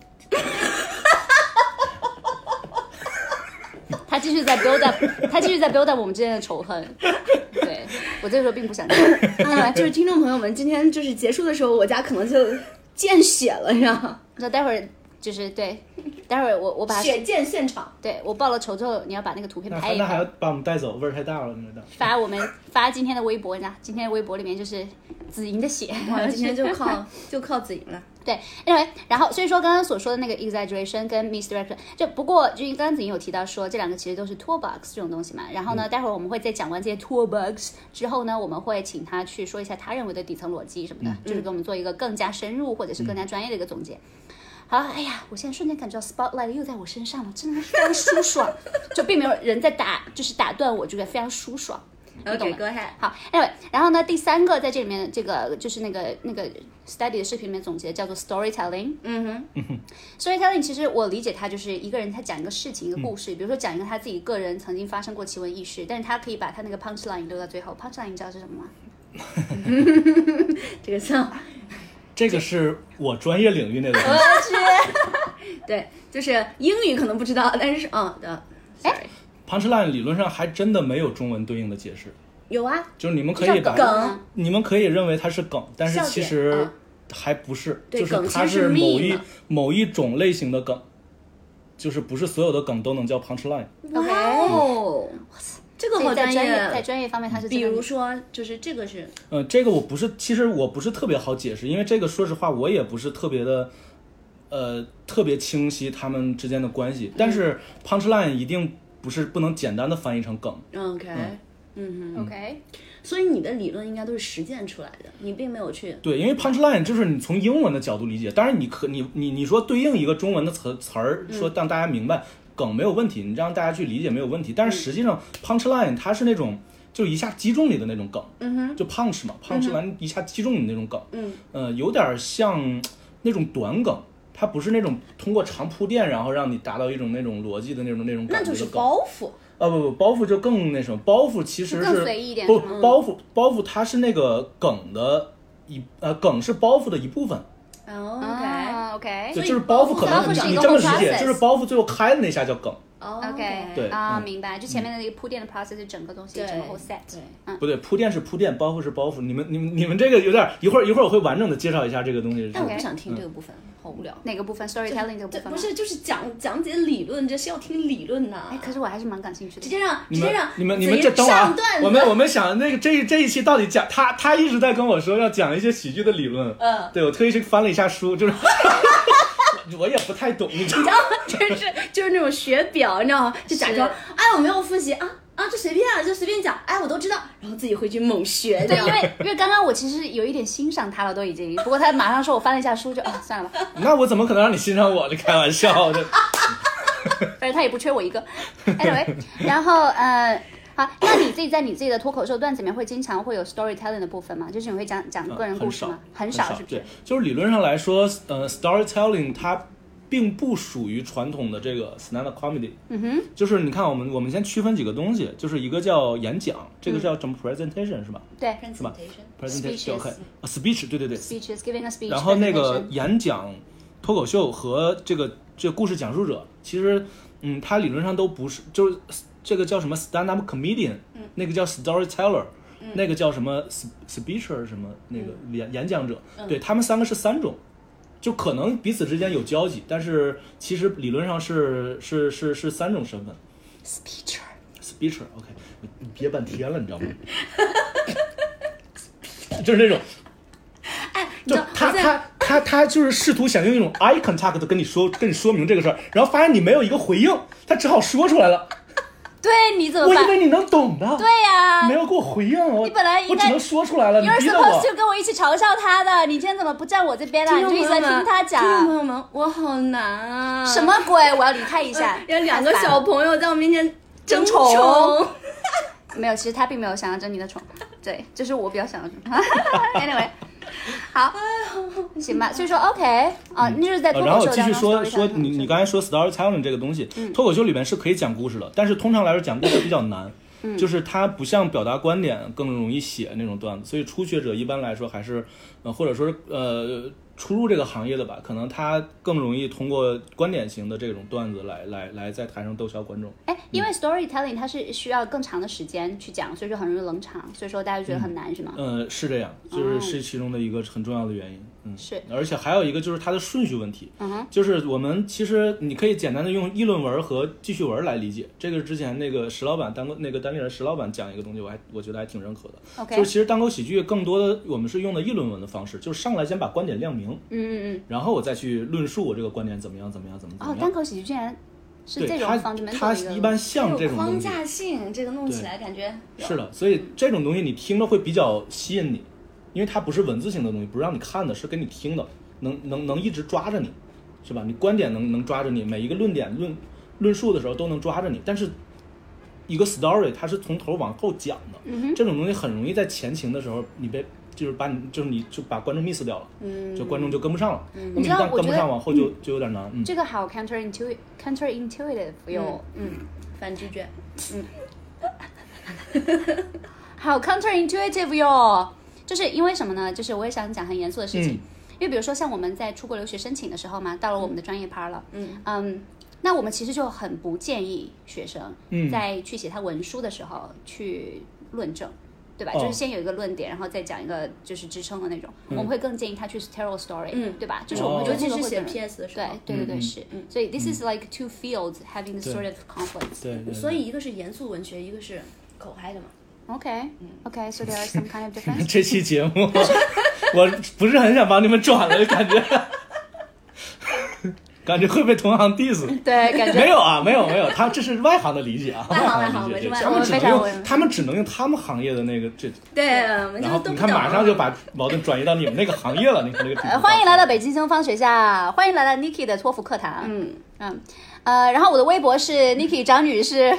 他继续在 build up， 他继续在 build up 我们之间的仇恨。对，我这个时候并不想讲。 啊，就是听众朋友们，今天就是结束的时候，我家可能就见血了，你知道吗？ 那待会儿。就是对，待会儿我我把血溅现场， 对我报了仇之后，你要把那个图片拍一拍。 那还要把我们带走，味儿太大了，你知道。 发我们发今天的微博，你知道，今天的微博里面就是子莹的血， 哇，今天就靠就靠子莹了。 对，因为然后所以说刚刚所说的那个 exaggeration 跟 misdirection， 就不过就刚刚子莹有提到说这两个其实都是 toolbox 这种东西嘛。然后呢，嗯、待会儿我们会在讲完这些 toolbox 之后呢，我们会请他去说一下他认为的底层逻辑什么的，嗯、就是给我们做一个更加深入或者是更加专业的一个总结。 好，哎呀，我现在瞬间感觉到 spotlight 又在我身上了，真的非常舒爽，就并没有人在打，就是打断我，觉得非常舒爽。 OK， go ahead。 好 ，Anyway， 然后呢，第三个在这里面，这个就是那个那个 study 的视频里面总结叫做 storytelling。 嗯哼 ，storytelling 其实我理解它就是一个人他讲一个事情一个故事，嗯、比如说讲一个他自己个人曾经发生过奇闻异事，但是他可以把他那个 punchline 留到最后。punchline 你知道是什么吗？ 这个像， 这个是我专业领域内的东西。 我去，对，就是英语可能不知道，但是嗯的，哎。 punchline 理论上还真的没有中文对应的解释。 有啊， 就是你们可以把梗， 你们可以认为它是梗，但是其实还不是， 嗯、 就是它是某一某一种类型的梗，就是不是所有的梗都能叫 punchline。 OK，、哦嗯、这个好专业， 在专业方面它是， 比如说就是这个是， 呃，这个我不是，其实我不是特别好解释，因为这个说实话我也不是特别的。呃，特别清晰他们之间的关系，但是 punchline 一定不是不能简单的翻译成梗。 OK， 嗯哼 ，OK， 所以你的理论应该都是实践出来的，你并没有去对，因为 punchline 就是你从英文的角度理解，当然你可你你你说对应一个中文的词词儿，说让大家明白、嗯、梗没有问题，你让大家去理解没有问题，但是实际上 punchline 它是那种就一下击中你的那种梗， 嗯哼， 就 punch 嘛 ，punch 完一下击中你那种梗， 嗯， 呃，有点像那种短梗。它不是那种通过长铺垫，然后让你达到一种那种逻辑的那种那种感觉的梗。 那就是包袱。 啊不不，包袱就更那什么，包袱其实是更随意一点。 不，包袱包袱它是那个梗的一呃梗是包袱的一部分。 哦 ，OK OK， 对，就是包袱可能你这么理解，就是包袱最后开的那下叫梗。 Oh, OK， 对啊，明白。就前面的那个铺垫的 process 是整个东西，整个 whole set。 对， 嗯， 不对，铺垫是铺垫，包袱是包袱。你们、你们、你们这个有点，一会儿一会儿我会完整的介绍一下这个东西。 但我不想听这个部分，好无聊。 哪个部分 ？storytelling 这个部分？ 不是，就是讲讲解理论，这是要听理论呐。 哎，可是我还是蛮感兴趣的。 直接让直接让你们你们这等会儿，我们我们想那个这这一期到底讲他他一直在跟我说要讲一些喜剧的理论。 嗯， 对我特意去翻了一下书，就是。我也不太懂，你知道吗？ 就是就是那种学表，你知道吗？就假装哎我没有复习啊啊，就随便啊，就随便讲，哎我都知道，然后自己回去猛学。 对，因为因为刚刚我其实有一点欣赏他了，都已经，不过他马上说我翻了一下书就啊算了吧。 那我怎么可能让你欣赏我？这开玩笑的。 反正他也不缺我一个。Anyway， 然后呃。好，那你自己在你自己的脱口秀段子里面会经常会有 storytelling 的部分吗？就是你会讲讲个人故事吗？ 呃、很少， 很少，是不是？ 对，就是理论上来说，呃 ，storytelling 它并不属于传统的这个 stand-up comedy。 嗯哼。 就是你看，我们我们先区分几个东西，就是一个叫演讲，这个叫什么 presentation 是吧？ 对， 是吧 ？presentation。 OK， speech， 对对对。 speeches giving a speech。 然后那个演讲、脱口秀和这个这个故事讲述者，其实嗯，它理论上都不是，就是。这个叫什么 stand-up comedian，、嗯、那个叫 storyteller，、嗯、那个叫什么 speaker 什么那个演、嗯、演讲者， 嗯、 对他们三个是三种，就可能彼此之间有交集，但是其实理论上是是是是三种身份。speaker，speaker， OK， 你憋半天了，你知道吗？就是那种， 哎， 就他他他他就是试图想用一种 eye contact 跟你说跟你说明这个事儿，然后发现你没有一个回应，他只好说出来了。 对，你怎么办？ 我以为你能懂的。 对呀、啊， 没有给我回应，我你本来应该我只能说出来了。你逼得我。You're supposed to 跟我一起嘲笑他的，你今天怎么不站我这边了？你就一直在听他讲。 听众朋友们，我好难啊！ 什么鬼？我要离开一下。 有两个小朋友在我面前争宠。没有，其实他并没有想要争你的宠，对，这是我比较想要争。Anyway。好，行吧。所以说 OK 啊，那、嗯、就是在脱口秀、 呃、然后继续说说你你刚才说 storytelling 这个东西， 嗯、 脱口秀里面是可以讲故事的，但是通常来说讲故事比较难，嗯、就是它不像表达观点更容易写那种段子，所以初学者一般来说还是呃或者说呃初入这个行业的吧，可能他更容易通过观点型的这种段子来来来在台上逗笑观众。 哎，因为 storytelling 它是需要更长的时间去讲，所以说很容易冷场，所以说大家就觉得很难， 嗯、 是吗？ 呃，是这样，就是是其中的一个很重要的原因。嗯， 是。 而且还有一个就是它的顺序问题。 嗯哼。 就是我们其实你可以简单的用议论文和记叙文来理解。这个之前那个石老板单那个单立人石老板讲一个东西，我还我觉得还挺认可的。 OK。 就是其实单口喜剧更多的我们是用的议论文的方式，就是上来先把观点亮明。 嗯嗯嗯。 然后我再去论述我这个观点怎么样怎么样怎么怎么样。 哦，单口喜剧竟然是这种方面， 它一般像这种框架性，这个弄起来感觉是的，所以这种东西你听着会比较吸引你，因为它不是文字性的东西，不是让你看的，是给你听的，能能能一直抓着你。 是吧？你观点能能抓着你，每一个论点论论述的时候都能抓着你，但是一个 story 它是从头往后讲的， 嗯、 这种东西很容易在前情的时候你被就是把你就是你就把观众 miss 掉了，嗯，就观众就跟不上了，嗯，那么一旦跟不上往后就、嗯、就有点难，嗯， 这个好 counterintuitive counterintuitive 有， 嗯，反直觉，嗯。 好 counterintuitive 哟，就是因为什么呢？就是我也想讲很严肃的事情，嗯、因为比如说像我们在出国留学申请的时候嘛，到了我们的专业趴了，嗯嗯，那我们其实就很不建议学生在去写他文书的时候去论证，对吧？ 哦、 就是先有一个论点，然后再讲一个就是支撑的那种。嗯、我们会更建议他去 tell a story，嗯，对吧？就是我们尤其是写 P S 的时候， 对对对对是，嗯，所以 this is like two fields having the sort of conflicts， 对，对， 所以一个是严肃文学，一个是口嗨的嘛。 OK OK so there are some kind of difference 这期节目我不是很想帮你们转了，感觉感觉会被同行 diss。 对，感觉没有啊，没有没有，他这是外行的理解啊， 外行外行， 他们只能用他们只能用他们行业的那个这， 对， 然后你看马上就把矛盾转移到你们那个行业了，你看这个、 呃、欢迎来到北京东方学校，欢迎来到 Nikki 的托福课堂，嗯嗯呃，然后我的微博是 Nikki 张女士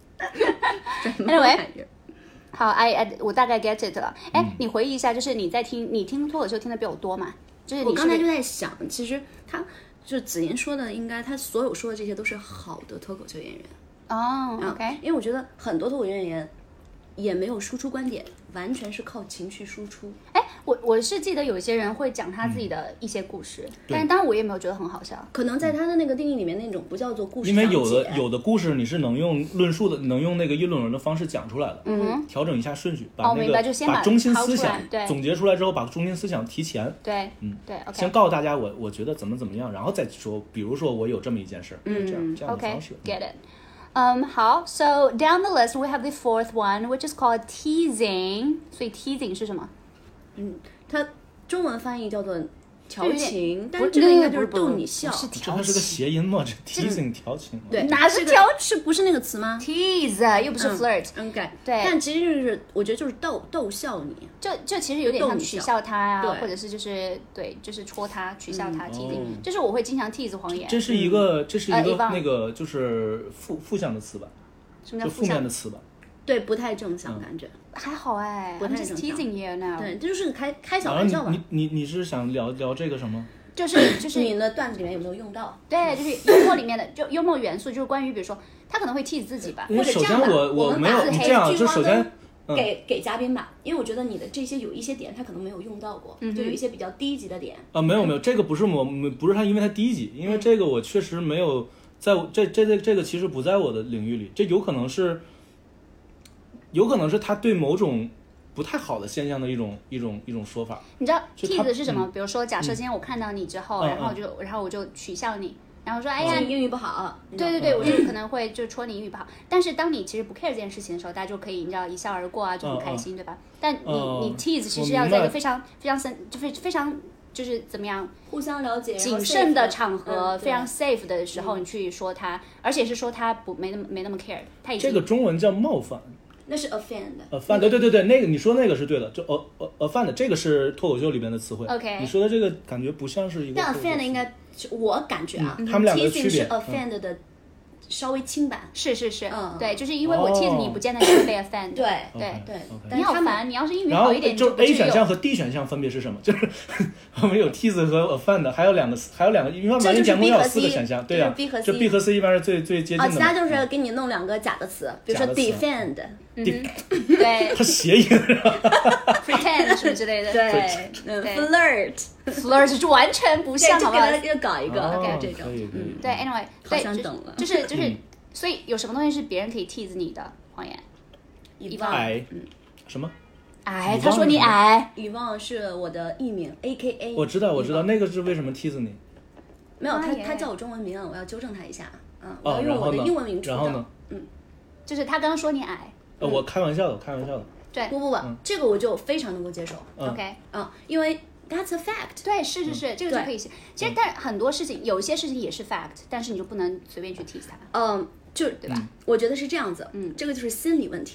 anyway好 I, I 我大概 get it 了。哎、嗯，你回忆一下，就是你在听你听脱口秀听的比我多嘛？就是你是我刚才就在想，其实他就子妍说的，应该他所有说的这些都是好的脱口秀演员。 哦、oh, ，OK，、 嗯、因为我觉得很多脱口秀演员也没有输出观点，完全是靠情绪输出。 哎，我我是记得有一些人会讲他自己的一些故事，嗯、但是当然我也没有觉得很好笑。 可能在他的那个定义里面，那种不叫做故事， 因为有的有的故事你是能用论述的，能用那个议论文的方式讲出来的。 嗯， 调整一下顺序，把那个、 哦、明白，就先把把中心思想对总结出来之后，把中心思想提前。 对， 嗯， 对 ，OK， 先告诉大家我我觉得怎么怎么样，然后再说，比如说我有这么一件事，嗯，这样这样的方式。 OK，get it。Um, 好 ，So down the list we have the fourth one, which is called teasing. 所以 teasing 是什么？ 嗯，它中文翻译叫做调情，但是这个应该就是逗你笑。 是调情， 它是个谐音嘛？这 teasing 调情， 对， 哪是调？ 是不是那个词吗 ？tease 又不是 flirt。 嗯，对。 对。 但其实就是我觉得就是逗逗笑你， 就就其实有点像取笑他呀、 啊， 或者是就是对，就是戳他、取笑他、teasing。就是我会经常 tease 黄妍。 这是一个，这是一个那个就是负负向的词吧？ 什么叫负面的词吧？ 对，不太正向感觉。 还好哎， 不太正向。 I'm just teasing you now。 对，这就是开开小玩笑吧。 你你你是想聊聊这个什么？ 就是就是你的段子里面有没有用到？ 对，就是幽默里面的，就幽默元素就是关于比如说他可能会 tease 自己吧，或者首先我我没有你这样，就首先给给嘉宾吧，因为我觉得你的这些有一些点他可能没有用到过，就有一些比较低级的点。 啊，没有没有，这个不是我不是他，因为他低级，因为这个我确实没有在这这这这个其实不在我的领域里，这有可能是有可能是他对某种不太好的现象的一种一种一种说法。 你知道 tease 是什么？比如说，假设今天我看到你之后，然后就然后我就取笑你，然后说，哎呀， 你英语不好。 对对对，我就可能会就戳你英语不好。但是当你其实不 care 这件事情的时候，大家就可以你知道一笑而过啊，就很开心，对吧？但你你 tease 其实要在一个非常非常深，就非非常就是怎么样， 互相了解、 谨慎的场合，非常 safe 的时候，你去说他，而且是说他不没那么没那么 care， 他已经这个中文叫冒犯。 那是 offend，offend， 对对对对，那个你说那个是对的，就 offend 这个是脱口秀里面的词汇。 OK， 你说的这个感觉不像是一个。 但 offend 应该，我感觉啊， 他们两个区别是 offend 的稍微轻版。 是是是，对，就是因为我 tease 你，不见得你会被 offend。 对对对， 你好烦，你要是英语好一点， 就 A 选项和 D 选项分别是什么？就是我们有 tease 和 offend， 还有两个，还有两个，一般完全节目要有四个选项，对呀，就 B 和 C 一般是最最接近的。 啊，其他就是给你弄两个假的词，比如说 defend。 对， 它谐音 ，pretend 什么之类的， 对，嗯 ，flirt，flirt 就完全不像，好吧？ 要搞一个 ，OK， 这种， 嗯，对 ，anyway， 好想等了， 就是就是，所以有什么东西是别人可以 tease 你的，黄妍？ 遗忘，矮，什么？ 矮，他说你矮。 遗忘是我的艺名 ，A K A。 我知道，我知道，那个是为什么 tease 你？ 没有，他他叫我中文名，我要纠正他一下，嗯，我要用我的英文名出然后呢？ 嗯， 就是他刚刚说你矮。 呃，我开玩笑的，开玩笑的。 对， 不不不，这个我就非常能够接受。 OK， 嗯，因为 that's a fact。 对，是是是，这个就可以。其实，但很多事情，有一些事情也是 fact，但是你就不能随便去 tease 它。 嗯，就对吧？ 我觉得是这样子。嗯，这个就是心理问题了。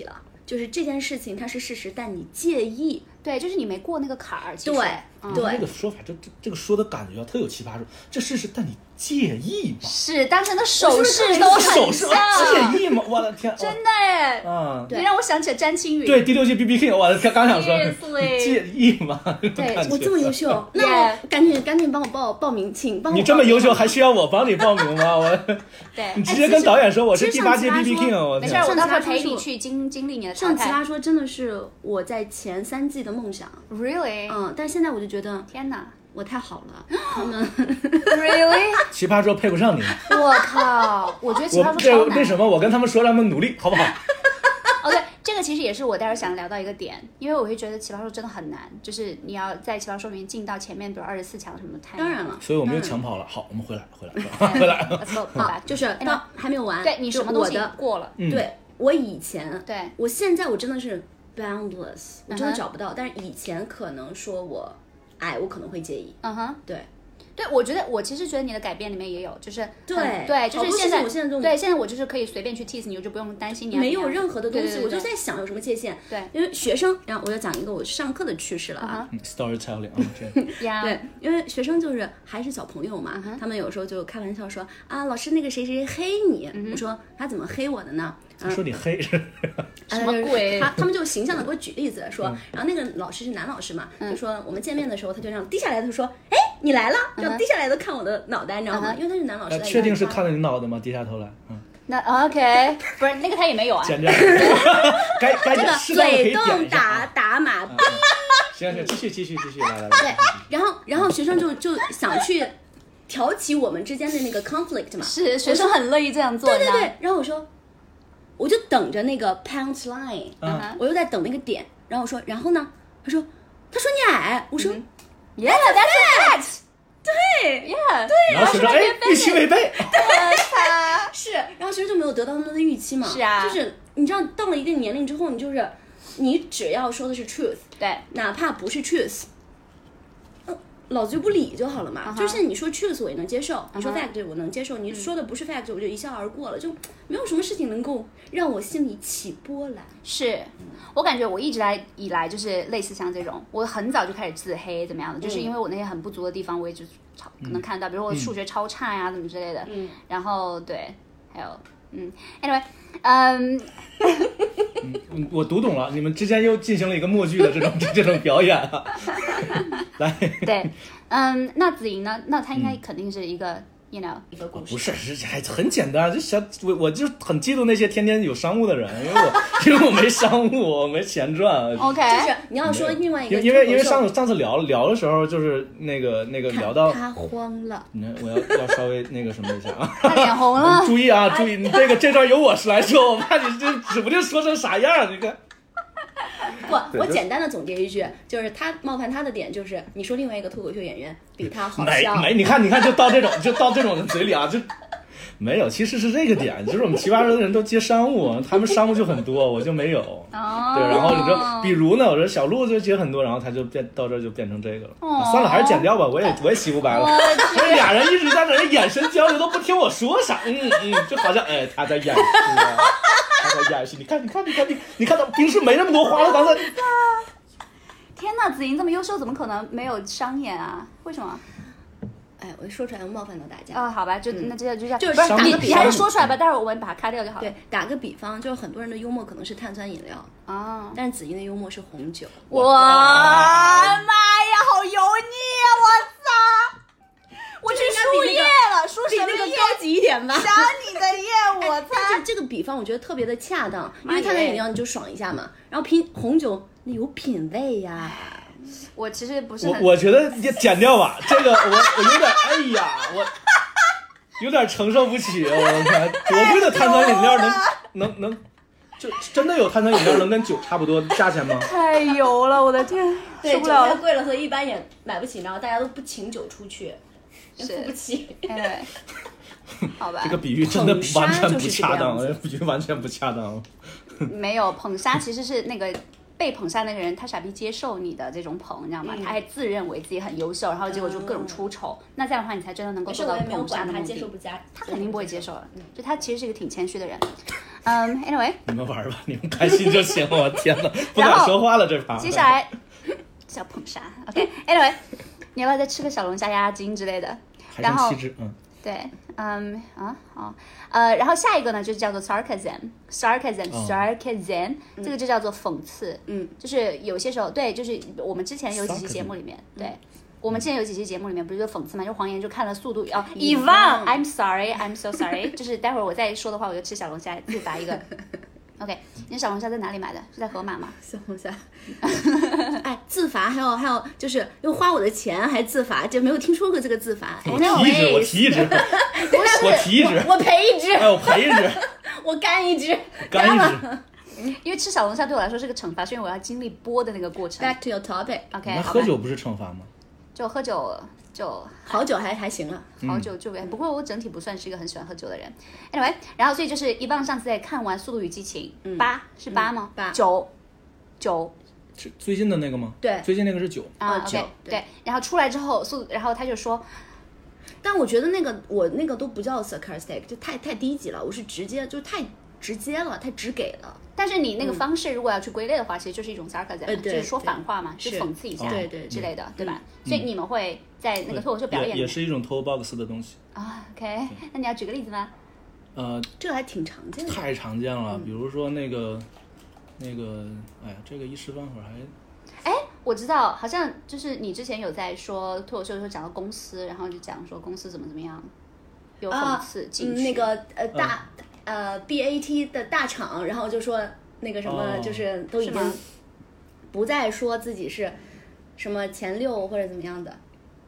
就是这件事情它是事实，但你介意。 对，就是你没过那个坎儿。 对，嗯、对， 这个说法，这这这个说的感觉特有奇葩，说这事实，但你介意吗？ 是，当时的手势都很像。 手势介意吗？我的天， 真的哎， 嗯， 你让我想起了詹青云。 对，第六季 B B King， 我的天，刚想说介意吗？ 对，我这么优秀，那我赶紧赶紧帮我报报名，请帮我。 你这么优秀，还需要我帮你报名吗？我， 对， 你直接跟导演说我是第八届 B B King， 我没事，我到时候陪你去经经历你的淘汰。 上奇葩说真的是我在前三季的梦想。 Really？ 嗯，但是现在我就觉得， 天哪， 我太好了，他们 Really？ 奇葩说配不上你。 我靠，我觉得奇葩说超难。 为什么？我跟他们说他们努力，好不好？ 哦，对，这个其实也是我待会儿想聊到一个点，因为我会觉得奇葩说真的很难，就是你要在奇葩说里面进到前面，比如二十四强什么的，太当然了， 所以我们又抢跑了。好，我们回来，回来，回来。 好， 就是到还没有完， 对你什么东西过了？ 对我以前， 对我现在我真的是 boundless， 我真的找不到，但是以前可能说我，哎，我可能会介意， 嗯哼， 对。 对，我觉得我其实觉得你的改变里面也有，就是对对，就是现在我现在这种对现在我就是可以随便去 tease 你，我就不用担心你没有任何的东西， 对对对对我就在想有什么界限。 对， 因为学生，然后我要讲一个我上课的趣事了啊。 Uh-huh. Storytelling， 对，因为学生就是还是小朋友嘛， uh-huh. 他们有时候就开玩笑说啊，老师那个谁谁黑你， uh-huh. 我说他怎么黑我的呢？ 他说你黑是什么鬼？ 他他们就形象的给我举例子说，然后那个老师是男老师嘛，就说我们见面的时候，他就这样低下来，他说，哎，你来了，就低下来都看我的脑袋，你知道吗？因为他是男老师。 确定是看了你脑袋吗？低下头来，嗯。 那 OK， 不是那个他也没有啊。 剪掉。该该这个嘴动打打码。 行行，继续继续继续，来来来。 对，然后然后学生就就想去挑起我们之间的那个 conflict 嘛。 是，学生很乐意这样做。 对对对，然后我说。我就等着那个 punch line，、 嗯、 我又在等那个点，然后我说，然后呢？他说，他说你矮，我说、嗯、 ，Yeah, that's it， 对 ，Yeah， 对， 然后学生哎，预期违背， 对，是，然后学生就没有得到他们的预期嘛， 是啊， 就是你知道到了一定年龄之后，你就是你只要说的是 truth， 对， 哪怕不是 truth。老子就不理就好了嘛， uh-huh. 就是你说 truth 我也能接受， uh-huh. 你说 fact 我能接受，你说的不是 fact 我就一笑而过了，就没有什么事情能够让我心里起波澜。 是我感觉我一直来以来就是类似像这种，我很早就开始自黑怎么样的，就是因为我那些很不足的地方，我也就超可能看到，比如我数学超差呀、啊，怎么之类的， 嗯， 然后对，还有嗯 ，anyway， 嗯。 嗯，我读懂了，你们之间又进行了一个默剧的这种这种表演啊。来， 对，嗯，那子莹呢？那她应该肯定是一个、嗯、，you know， 一个故事。 不是，是还很简单，就小我我就很嫉妒那些天天有商务的人，因为我因为我没商务，我没钱赚。 OK， 就是你要说另外一个， 因为因为上上次聊聊的时候，就是那个那个聊到他慌了， 你看我要要稍微那个什么一下啊， 他脸红了。 注意啊，注意，你这个这段由我来说，我怕你这指不定说成啥样，你看。 不，我简单的总结一句，就是他冒犯他的点就是你说另外一个脱口秀演员比他好笑， 没没，你看你看就到这种就到这种的嘴里啊，就没有，其实是这个点，就是我们奇葩说的人都接商务，他们商务就很多，我就没有。 哦。 对，然后你说，比如呢，我说小鹿就接很多，然后他就变到这就变成这个了。 哦啊、算了，还是剪掉吧，我也我也洗不白了。这俩人一直在那儿眼神交流，都不听我说啥，嗯嗯，就好像哎他在演戏啊。他在演戏，你看，你看，你看，你你看，他平时没那么多话了，刚才。 天哪，子莹这么优秀，怎么可能没有商演啊？为什么？ 哎，我说出来冒犯到大家。 啊、哦，好吧，就、嗯、那这样就这样。 就是不是你，你还是说出来吧，待会儿我们把它卡掉就好了。 对，打个比方，就是很多人的幽默可能是碳酸饮料啊、哦， 但是子莹的幽默是红酒。 哇妈呀，好油腻啊！我操！我去输液了，输什么液？ 比那个高级一点吧。 想你的液，我操！ 但是这个比方我觉得特别的恰当，因为碳酸饮料你就爽一下嘛，然后品红酒那有品味呀。 我其实不是我我觉得剪掉吧，这个我我有点哎呀，我有点承受不起，我看多贵的碳酸饮料能能能，就真的有碳酸饮料能跟酒差不多价钱吗？ 太油了，我的天， 对， 受不了了， 酒太贵了，所以一般也买不起，然后大家都不请酒出去，也付不起。 哎，好吧， 这个比喻真的完全不恰当，这比喻完全不恰当。 没有捧杀其实是那个。被捧杀那个人，他傻逼接受你的这种捧，你知道吗？嗯、他还自认为自己很优秀，然后结果就各种出丑。嗯、那这样的话，你才真的能够做到捧杀的目的。 他接受不加， 他肯定不会接受了。嗯、就他其实是一个挺谦虚的人。 嗯、um,，anyway， 你们玩吧，你们开心就行。我天哪，不敢说话了这盘。 接下来小捧杀 ，OK，anyway，、okay, 你要不要再吃个小龙虾压压惊之类的？然后， 嗯， 对，嗯啊好，呃，然后下一个呢就叫做 sarcasm，sarcasm，sarcasm，、哦、这个就叫做讽刺， 嗯， 就是有些时候，对，就是我们之前有几期节目里面，对。嗯我们之前有几期节目里面不是就讽刺嘛，就黄妍就看了《速度》哦 ，Evan I'm sorry I'm so sorry， 就是待会儿我再说的话，我就吃小龙虾自罚一个。OK， 你小龙虾在哪里买的？是在盒马吗？ 小龙虾，哎，自罚还有还有就是又花我的钱还自罚，就没有听说过这个自罚。 我提一只，我提一只， 不是我提一只， 我赔一只， 哎，我赔一只， 我干一只， 干一只。 因为吃小龙虾对我来说是个惩罚，是因为我要经历剥的那个过程。 Back to your topic。OK， 那喝酒不是惩罚吗？ 就喝酒就好酒还还行了， 好酒就不过我整体不算是一个很喜欢喝酒的人。Anyway， 然后所以就是一棒上次在看完《速度与激情》八、嗯、是八吗？ 八九九是最近的那个吗？ 对， 最近那个是九啊。OK， 对, 对。然后出来之后，速然后他就说， 但我觉得那个我那个都不叫 sarcastic， 就太太低级了，我是直接就太直接了，太直给了。 但是你那个方式如果要去归类的话，嗯、其实就是一种 sarcasm，、呃、就是说反话嘛，就讽刺一下， 对对之类的，对吧？ 嗯、 所以你们会在那个脱口秀表演也，也是一种 talk box 的东西啊。OK， 那你要举个例子吗？ 呃， 这个还挺常见的， 太常见了。嗯、比如说那个那个，哎呀，这个一时半会儿还…… 哎，我知道，好像就是你之前有在说脱口秀的时候讲到公司，然后就讲说公司怎么怎么样，有讽刺进去、 啊嗯、那个呃大。嗯呃 ，B A T 的大厂，然后就说那个什么，就是都已经不再说自己是什么前六或者怎么样的。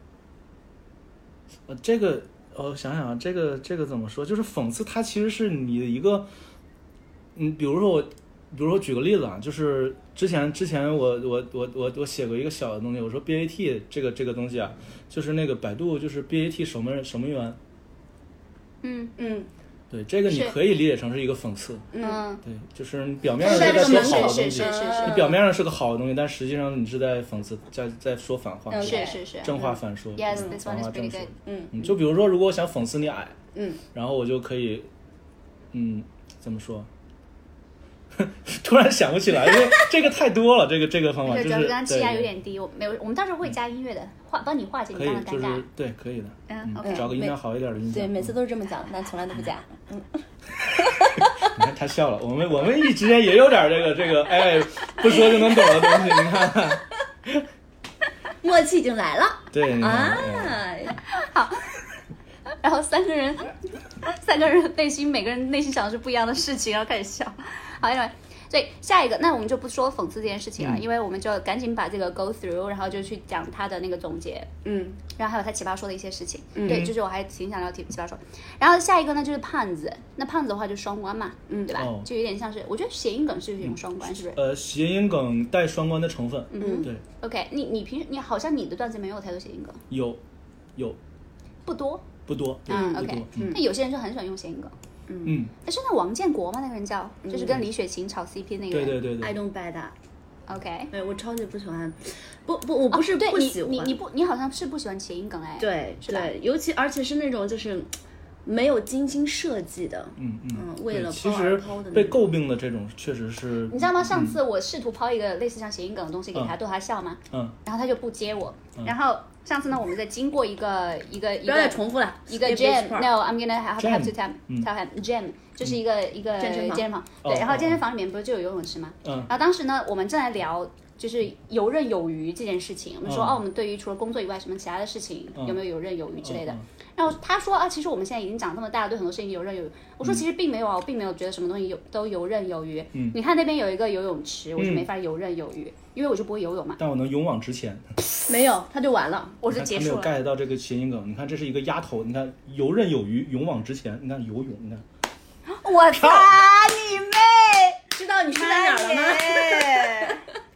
呃，这个呃，想想这个这个怎么说？就是讽刺，它其实是你的一个，嗯，比如说我，比如说举个例子啊，就是之前之前我我我我我写过一个小的东西，我说 B A T 这个这个东西啊，就是那个百度就是 B A T 守门守门员。 嗯嗯。 对，这个你可以理解成是一个讽刺， 嗯， 对，就是你表面上是在说好的东西， 你表面上是个好的东西，但实际上你是在讽刺，在在说反话， 是是是， 正话反说， Yes, this 反 one is 话正 pretty 说， good. 嗯，就比如说，如果我想讽刺你矮， 嗯， 然后我就可以，嗯，怎么说？突然想不起来，因为这个太多了，这个这个方法就是刚刚气压有点低，我没有，我们到时候会加音乐的，化帮你化解你刚刚尴尬。 可以，就是对，可以的， 嗯 ，OK， 找个音量好一点的音响。 对，每次都是这么讲，但从来都不加。嗯， 你看他笑了，我们我们一之间也有点这个这个，哎，不说就能懂的东西，你看看， 默契已经来了。 对， 啊， 好。然后三个人，三个人内心每个人内心想的是不一样的事情，然后开始笑。好，因为所以下一个，那我们就不说讽刺这件事情了，嗯、因为我们就赶紧把这个 go through， 然后就去讲他的那个总结， 嗯， 然后还有他奇葩说的一些事情， 嗯、 对，就是我还挺想聊奇奇葩说。然后下一个呢就是胖子，那胖子的话就双关嘛，嗯，对吧？哦、就有点像是，我觉得谐音梗是一种双关，嗯、是不是？ 呃，谐音梗带双关的成分， 嗯， 对。 OK， 你你平时你好像你的段子没有太多谐音梗， 有，有， 不多。 不多， 嗯 ，OK，嗯，那有些人就很喜欢用谐音梗，嗯，哎，是那王建国吗？那个人叫，就是跟李雪琴炒 C P 那个人， 对对对对 ，I don't buy that。 OK， 哎，我超级不喜欢，不不，我不是不喜欢， 你你不，你好像是不喜欢谐音梗哎， 对对，尤其而且是那种就是没有精心设计的， 嗯嗯，为了其实被诟病的这种确实是， 你知道吗？上次我试图抛一个类似像谐音梗的东西给他逗他笑嘛， 嗯， 然后他就不接我，然后。上次呢，我们在经过一个一个一个， 不要再重复了。 一个 jam，no，I'm gonna have have to tell tell him jam， 就是一个一个健身房。对，然后健身房里面不是就有游泳池吗？ 嗯。 然后当时呢，我们正在聊就是游刃有余这件事情。我们说哦，我们对于除了工作以外，什么其他的事情有没有游刃有余之类的。然后他说啊，其实我们现在已经长这么大了，对很多事情游刃有余。我说其实并没有啊，我并没有觉得什么东西有都游刃有余。 嗯。 你看那边有一个游泳池，我就没法游刃有余。因为我就不会游泳嘛， 但我能勇往直前。 没有，他就完了， 我就结束了。 没有 get 到这个谐音梗。你看，这是一个丫头，你看游刃有余，勇往直前。你看游泳，你看。 我擦你妹！ 知道你是在哪儿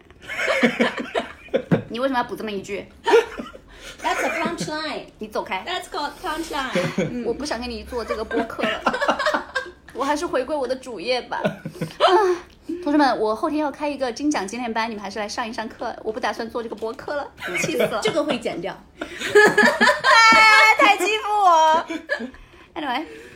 了吗？你为什么要补这么一句 ？That's a punchline。 你走开。 That's called punchline 嗯。我不想跟你做这个播客了，我还是回归我的主业吧。同学们，我后天要开一个金奖纪念班，你们还是来上一上课。我不打算做这个播客了，气死了。 这个会剪掉。 太欺负我。Anyway，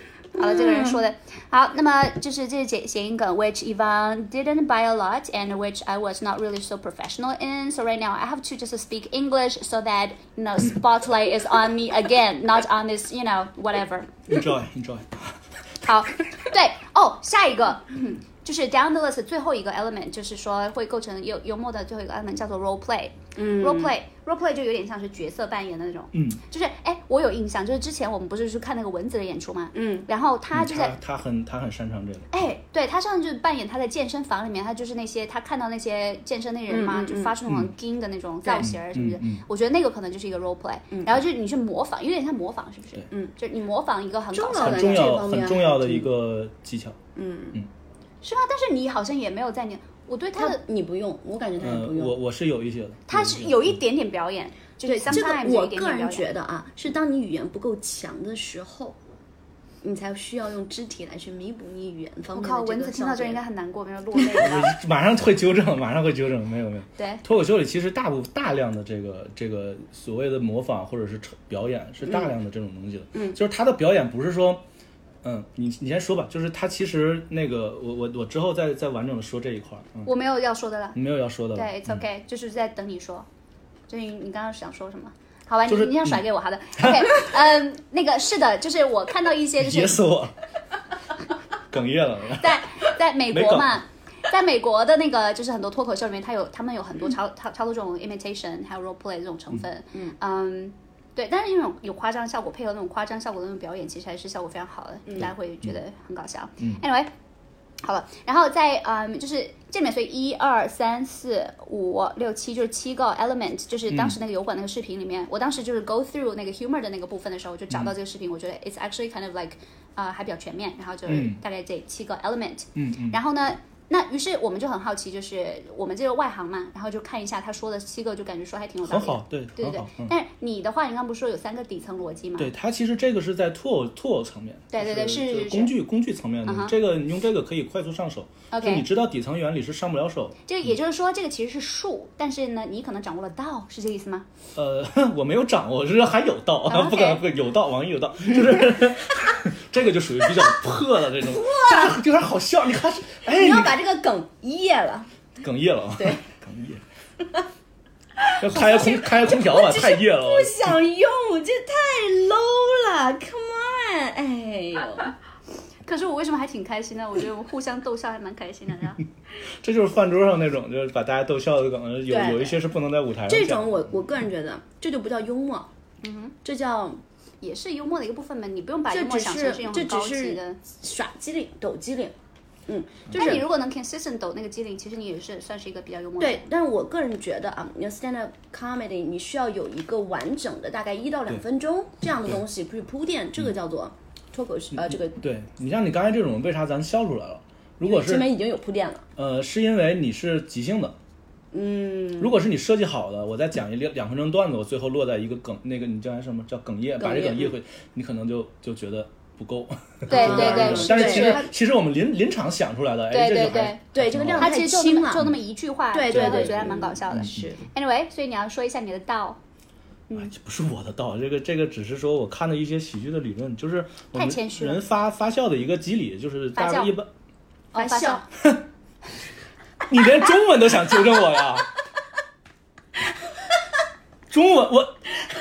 好了，这个人说的好，那么就是这是谐音梗 ，which Yvonne didn't buy a lot and which I was not really so professional in. So right now I have to just speak English so that you know spotlight is on me again, not on this you know whatever. Enjoy, enjoy. 好，对哦，下一个。嗯就是 down the list 最后一个 element， 就是说会构成幽幽默的最后一个 element 叫做 role play。嗯 ，role play role play 就有点像是角色扮演的那种。嗯，就是哎，我有印象，就是之前我们不是去看那个蚊子的演出嘛。嗯，然后他就在、 嗯、他, 他很他很擅长这个。 哎，对他上次就扮演他在健身房里面，他就是那些他看到那些健身那人嘛，嗯、就发出那种惊的那种造型，是不是、嗯嗯？我觉得那个可能就是一个 role play，、嗯、然后就你去模仿，有点像模仿，是不是？嗯，就你模仿一个很搞笑的很重要很重要的一个技巧。嗯嗯。 是吗？但是你好像也没有在你，我对他的他你不用，我感觉他也不用。 呃、我我是有一些的， 他是有一点点表演，就是这个我个人觉得啊，是当你语言不够强的时候，你才需要用肢体来去弥补你语言方面的这个。 我靠，蚊子听到这应该很难过，没有落泪。 马上会纠正，马上会纠正，没有没有。 对， 脱口秀里其实大部大量的这个这个所谓的模仿或者是表演是大量的这种东西的，嗯，就是他的表演不是说。嗯，你你先说吧，就是他其实那个我我我之后再再完整的说这一块、嗯、 我没有要说的了， 你没有要说的了， 对 ，it's okay，、嗯、就是在等你说，就是你刚刚想说什么？好吧， 就是、 你你想甩给我，好的 ，OK， 嗯，那个是的，就是我看到一些就是噎死我，哽咽了， 在在美国嘛。在美国的那个就是很多脱口秀里面，他有他们有很多超超超多这种 imitation 还有 role play 这种成分，嗯嗯。对，但是那种有夸张效果，配合那种夸张效果的那种表演，其实还是效果非常好的，嗯、大家会觉得很搞笑。嗯、anyway， 好了，然后在嗯，就是这里面，所以一二三四五六七就是七个 element， 就是当时那个油管那个视频里面，嗯、我当时就是 go through 那个 humor 的那个部分的时候，我就找到这个视频，嗯、我觉得 it's actually kind of like 啊、呃、还比较全面，然后就是大概这七个 element，嗯嗯，然后呢。那于是我们就很好奇，就是我们这个外行嘛，然后就看一下他说的七个，就感觉说还挺有道理的。 很好，对， 对对对。嗯、但是你的话，你刚不是说有三个底层逻辑吗？ 对，它其实这个是在脱脱口层面， 对对对，是工具工具层面的。Uh-huh. 这个你用这个可以快速上手。OK， 就你知道底层原理是上不了手。 就也就是说，这个其实是术，但是呢，你可能掌握了道，是这个意思吗？ 呃，我没有掌握，是还有道， okay. 不可能会有道，网易有道，就是这个就属于比较破的这种，但是有点好笑。你看，哎， 你要把这个梗噎了， 哽咽了， 对， 哽咽。要开空开空调吧，太热了。 不想用，这太 low 了 ，Come on， 哎呦。 可是我为什么还挺开心的？我觉得我们互相逗笑还蛮开心的，然后这就是饭桌上那种，就是把大家逗笑的梗，有有一些是不能在舞台上讲。 这种我我个人觉得，这就不叫幽默，嗯哼，这叫也是幽默的一个部分嘛。你不用把幽默想成是一种很高级的耍机灵、抖机灵。嗯， 就是但你如果能 consistent 抖那个机灵，其实你也是算是一个比较幽默的。 对，但是我个人觉得啊，你要 stand up comedy， 你需要有一个完整的大概一到两分钟这样的东西去铺垫，这个叫做脱口秀。呃，这个对你像你刚才这种，为啥咱笑出来了？如果是前面已经有铺垫了。 呃，是因为你是即兴的。嗯，如果是你设计好的，我再讲一两两分钟段子，我最后落在一个梗，那个你叫什么叫哽咽，把这哽咽会，你可能就就觉得。不够， 对对对， 但是其实其实我们临临场想出来的， 对对对对，这个量太轻了，就那么一句话， 对对对， 觉得还蛮搞笑的。是 ，anyway， 所以你要说一下你的道。 嗯，不是我的道，这个这个只是说我看的一些喜剧的理论，就是我们人发发酵的一个机理，就是大家一般发酵。 你连中文都想纠正我呀？中文我。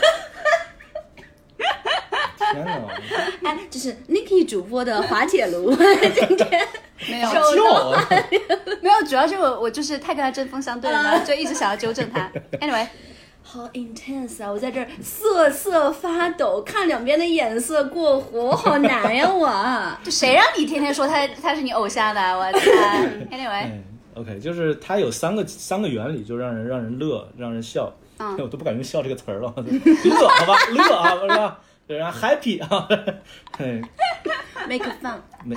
天哪！ 哎，这是 Niki 主播的滑铁卢，今天没有救， 没有，主要是我我就是太跟他针锋相对了，然后就一直想要纠正他。Anyway， 好 intense 啊！我在这儿瑟瑟发抖，看两边的眼色过活，好难呀！我， 就谁让你天天说他他是你偶像的？我天 ！Anyway，OK，、 哎、就是他有三个三个原理，就让人让人乐，让人笑。嗯，我都不敢用笑这个词儿了，乐好吧，乐啊，是吧？然后 happy 啊，对 ，make fun。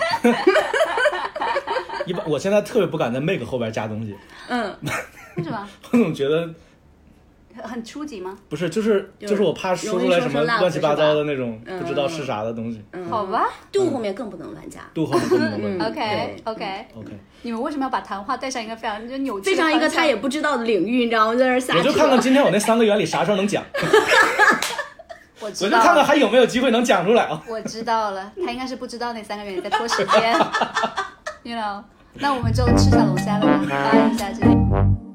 一般我现在特别不敢在 make 后边加东西。 嗯，为什么？ 我总觉得很初级吗？ 不是，就是就是我怕说出来什么乱七八糟的那种不知道是啥的东西。 嗯、好吧， 度后面更不能乱加， 度后面更不能乱加。 OK OK OK。你们为什么要把谈话带上一个非常就扭曲、 非常一个他也不知道的领域？你知道吗？在这瞎扯。 我就看看今天我那三个原理啥时候能讲。 我我就看看还有没有机会能讲出来啊。 我知道了，他应该是不知道那三个月你在拖时间。You know， 那我们就吃小龙虾了吧，发一下这里。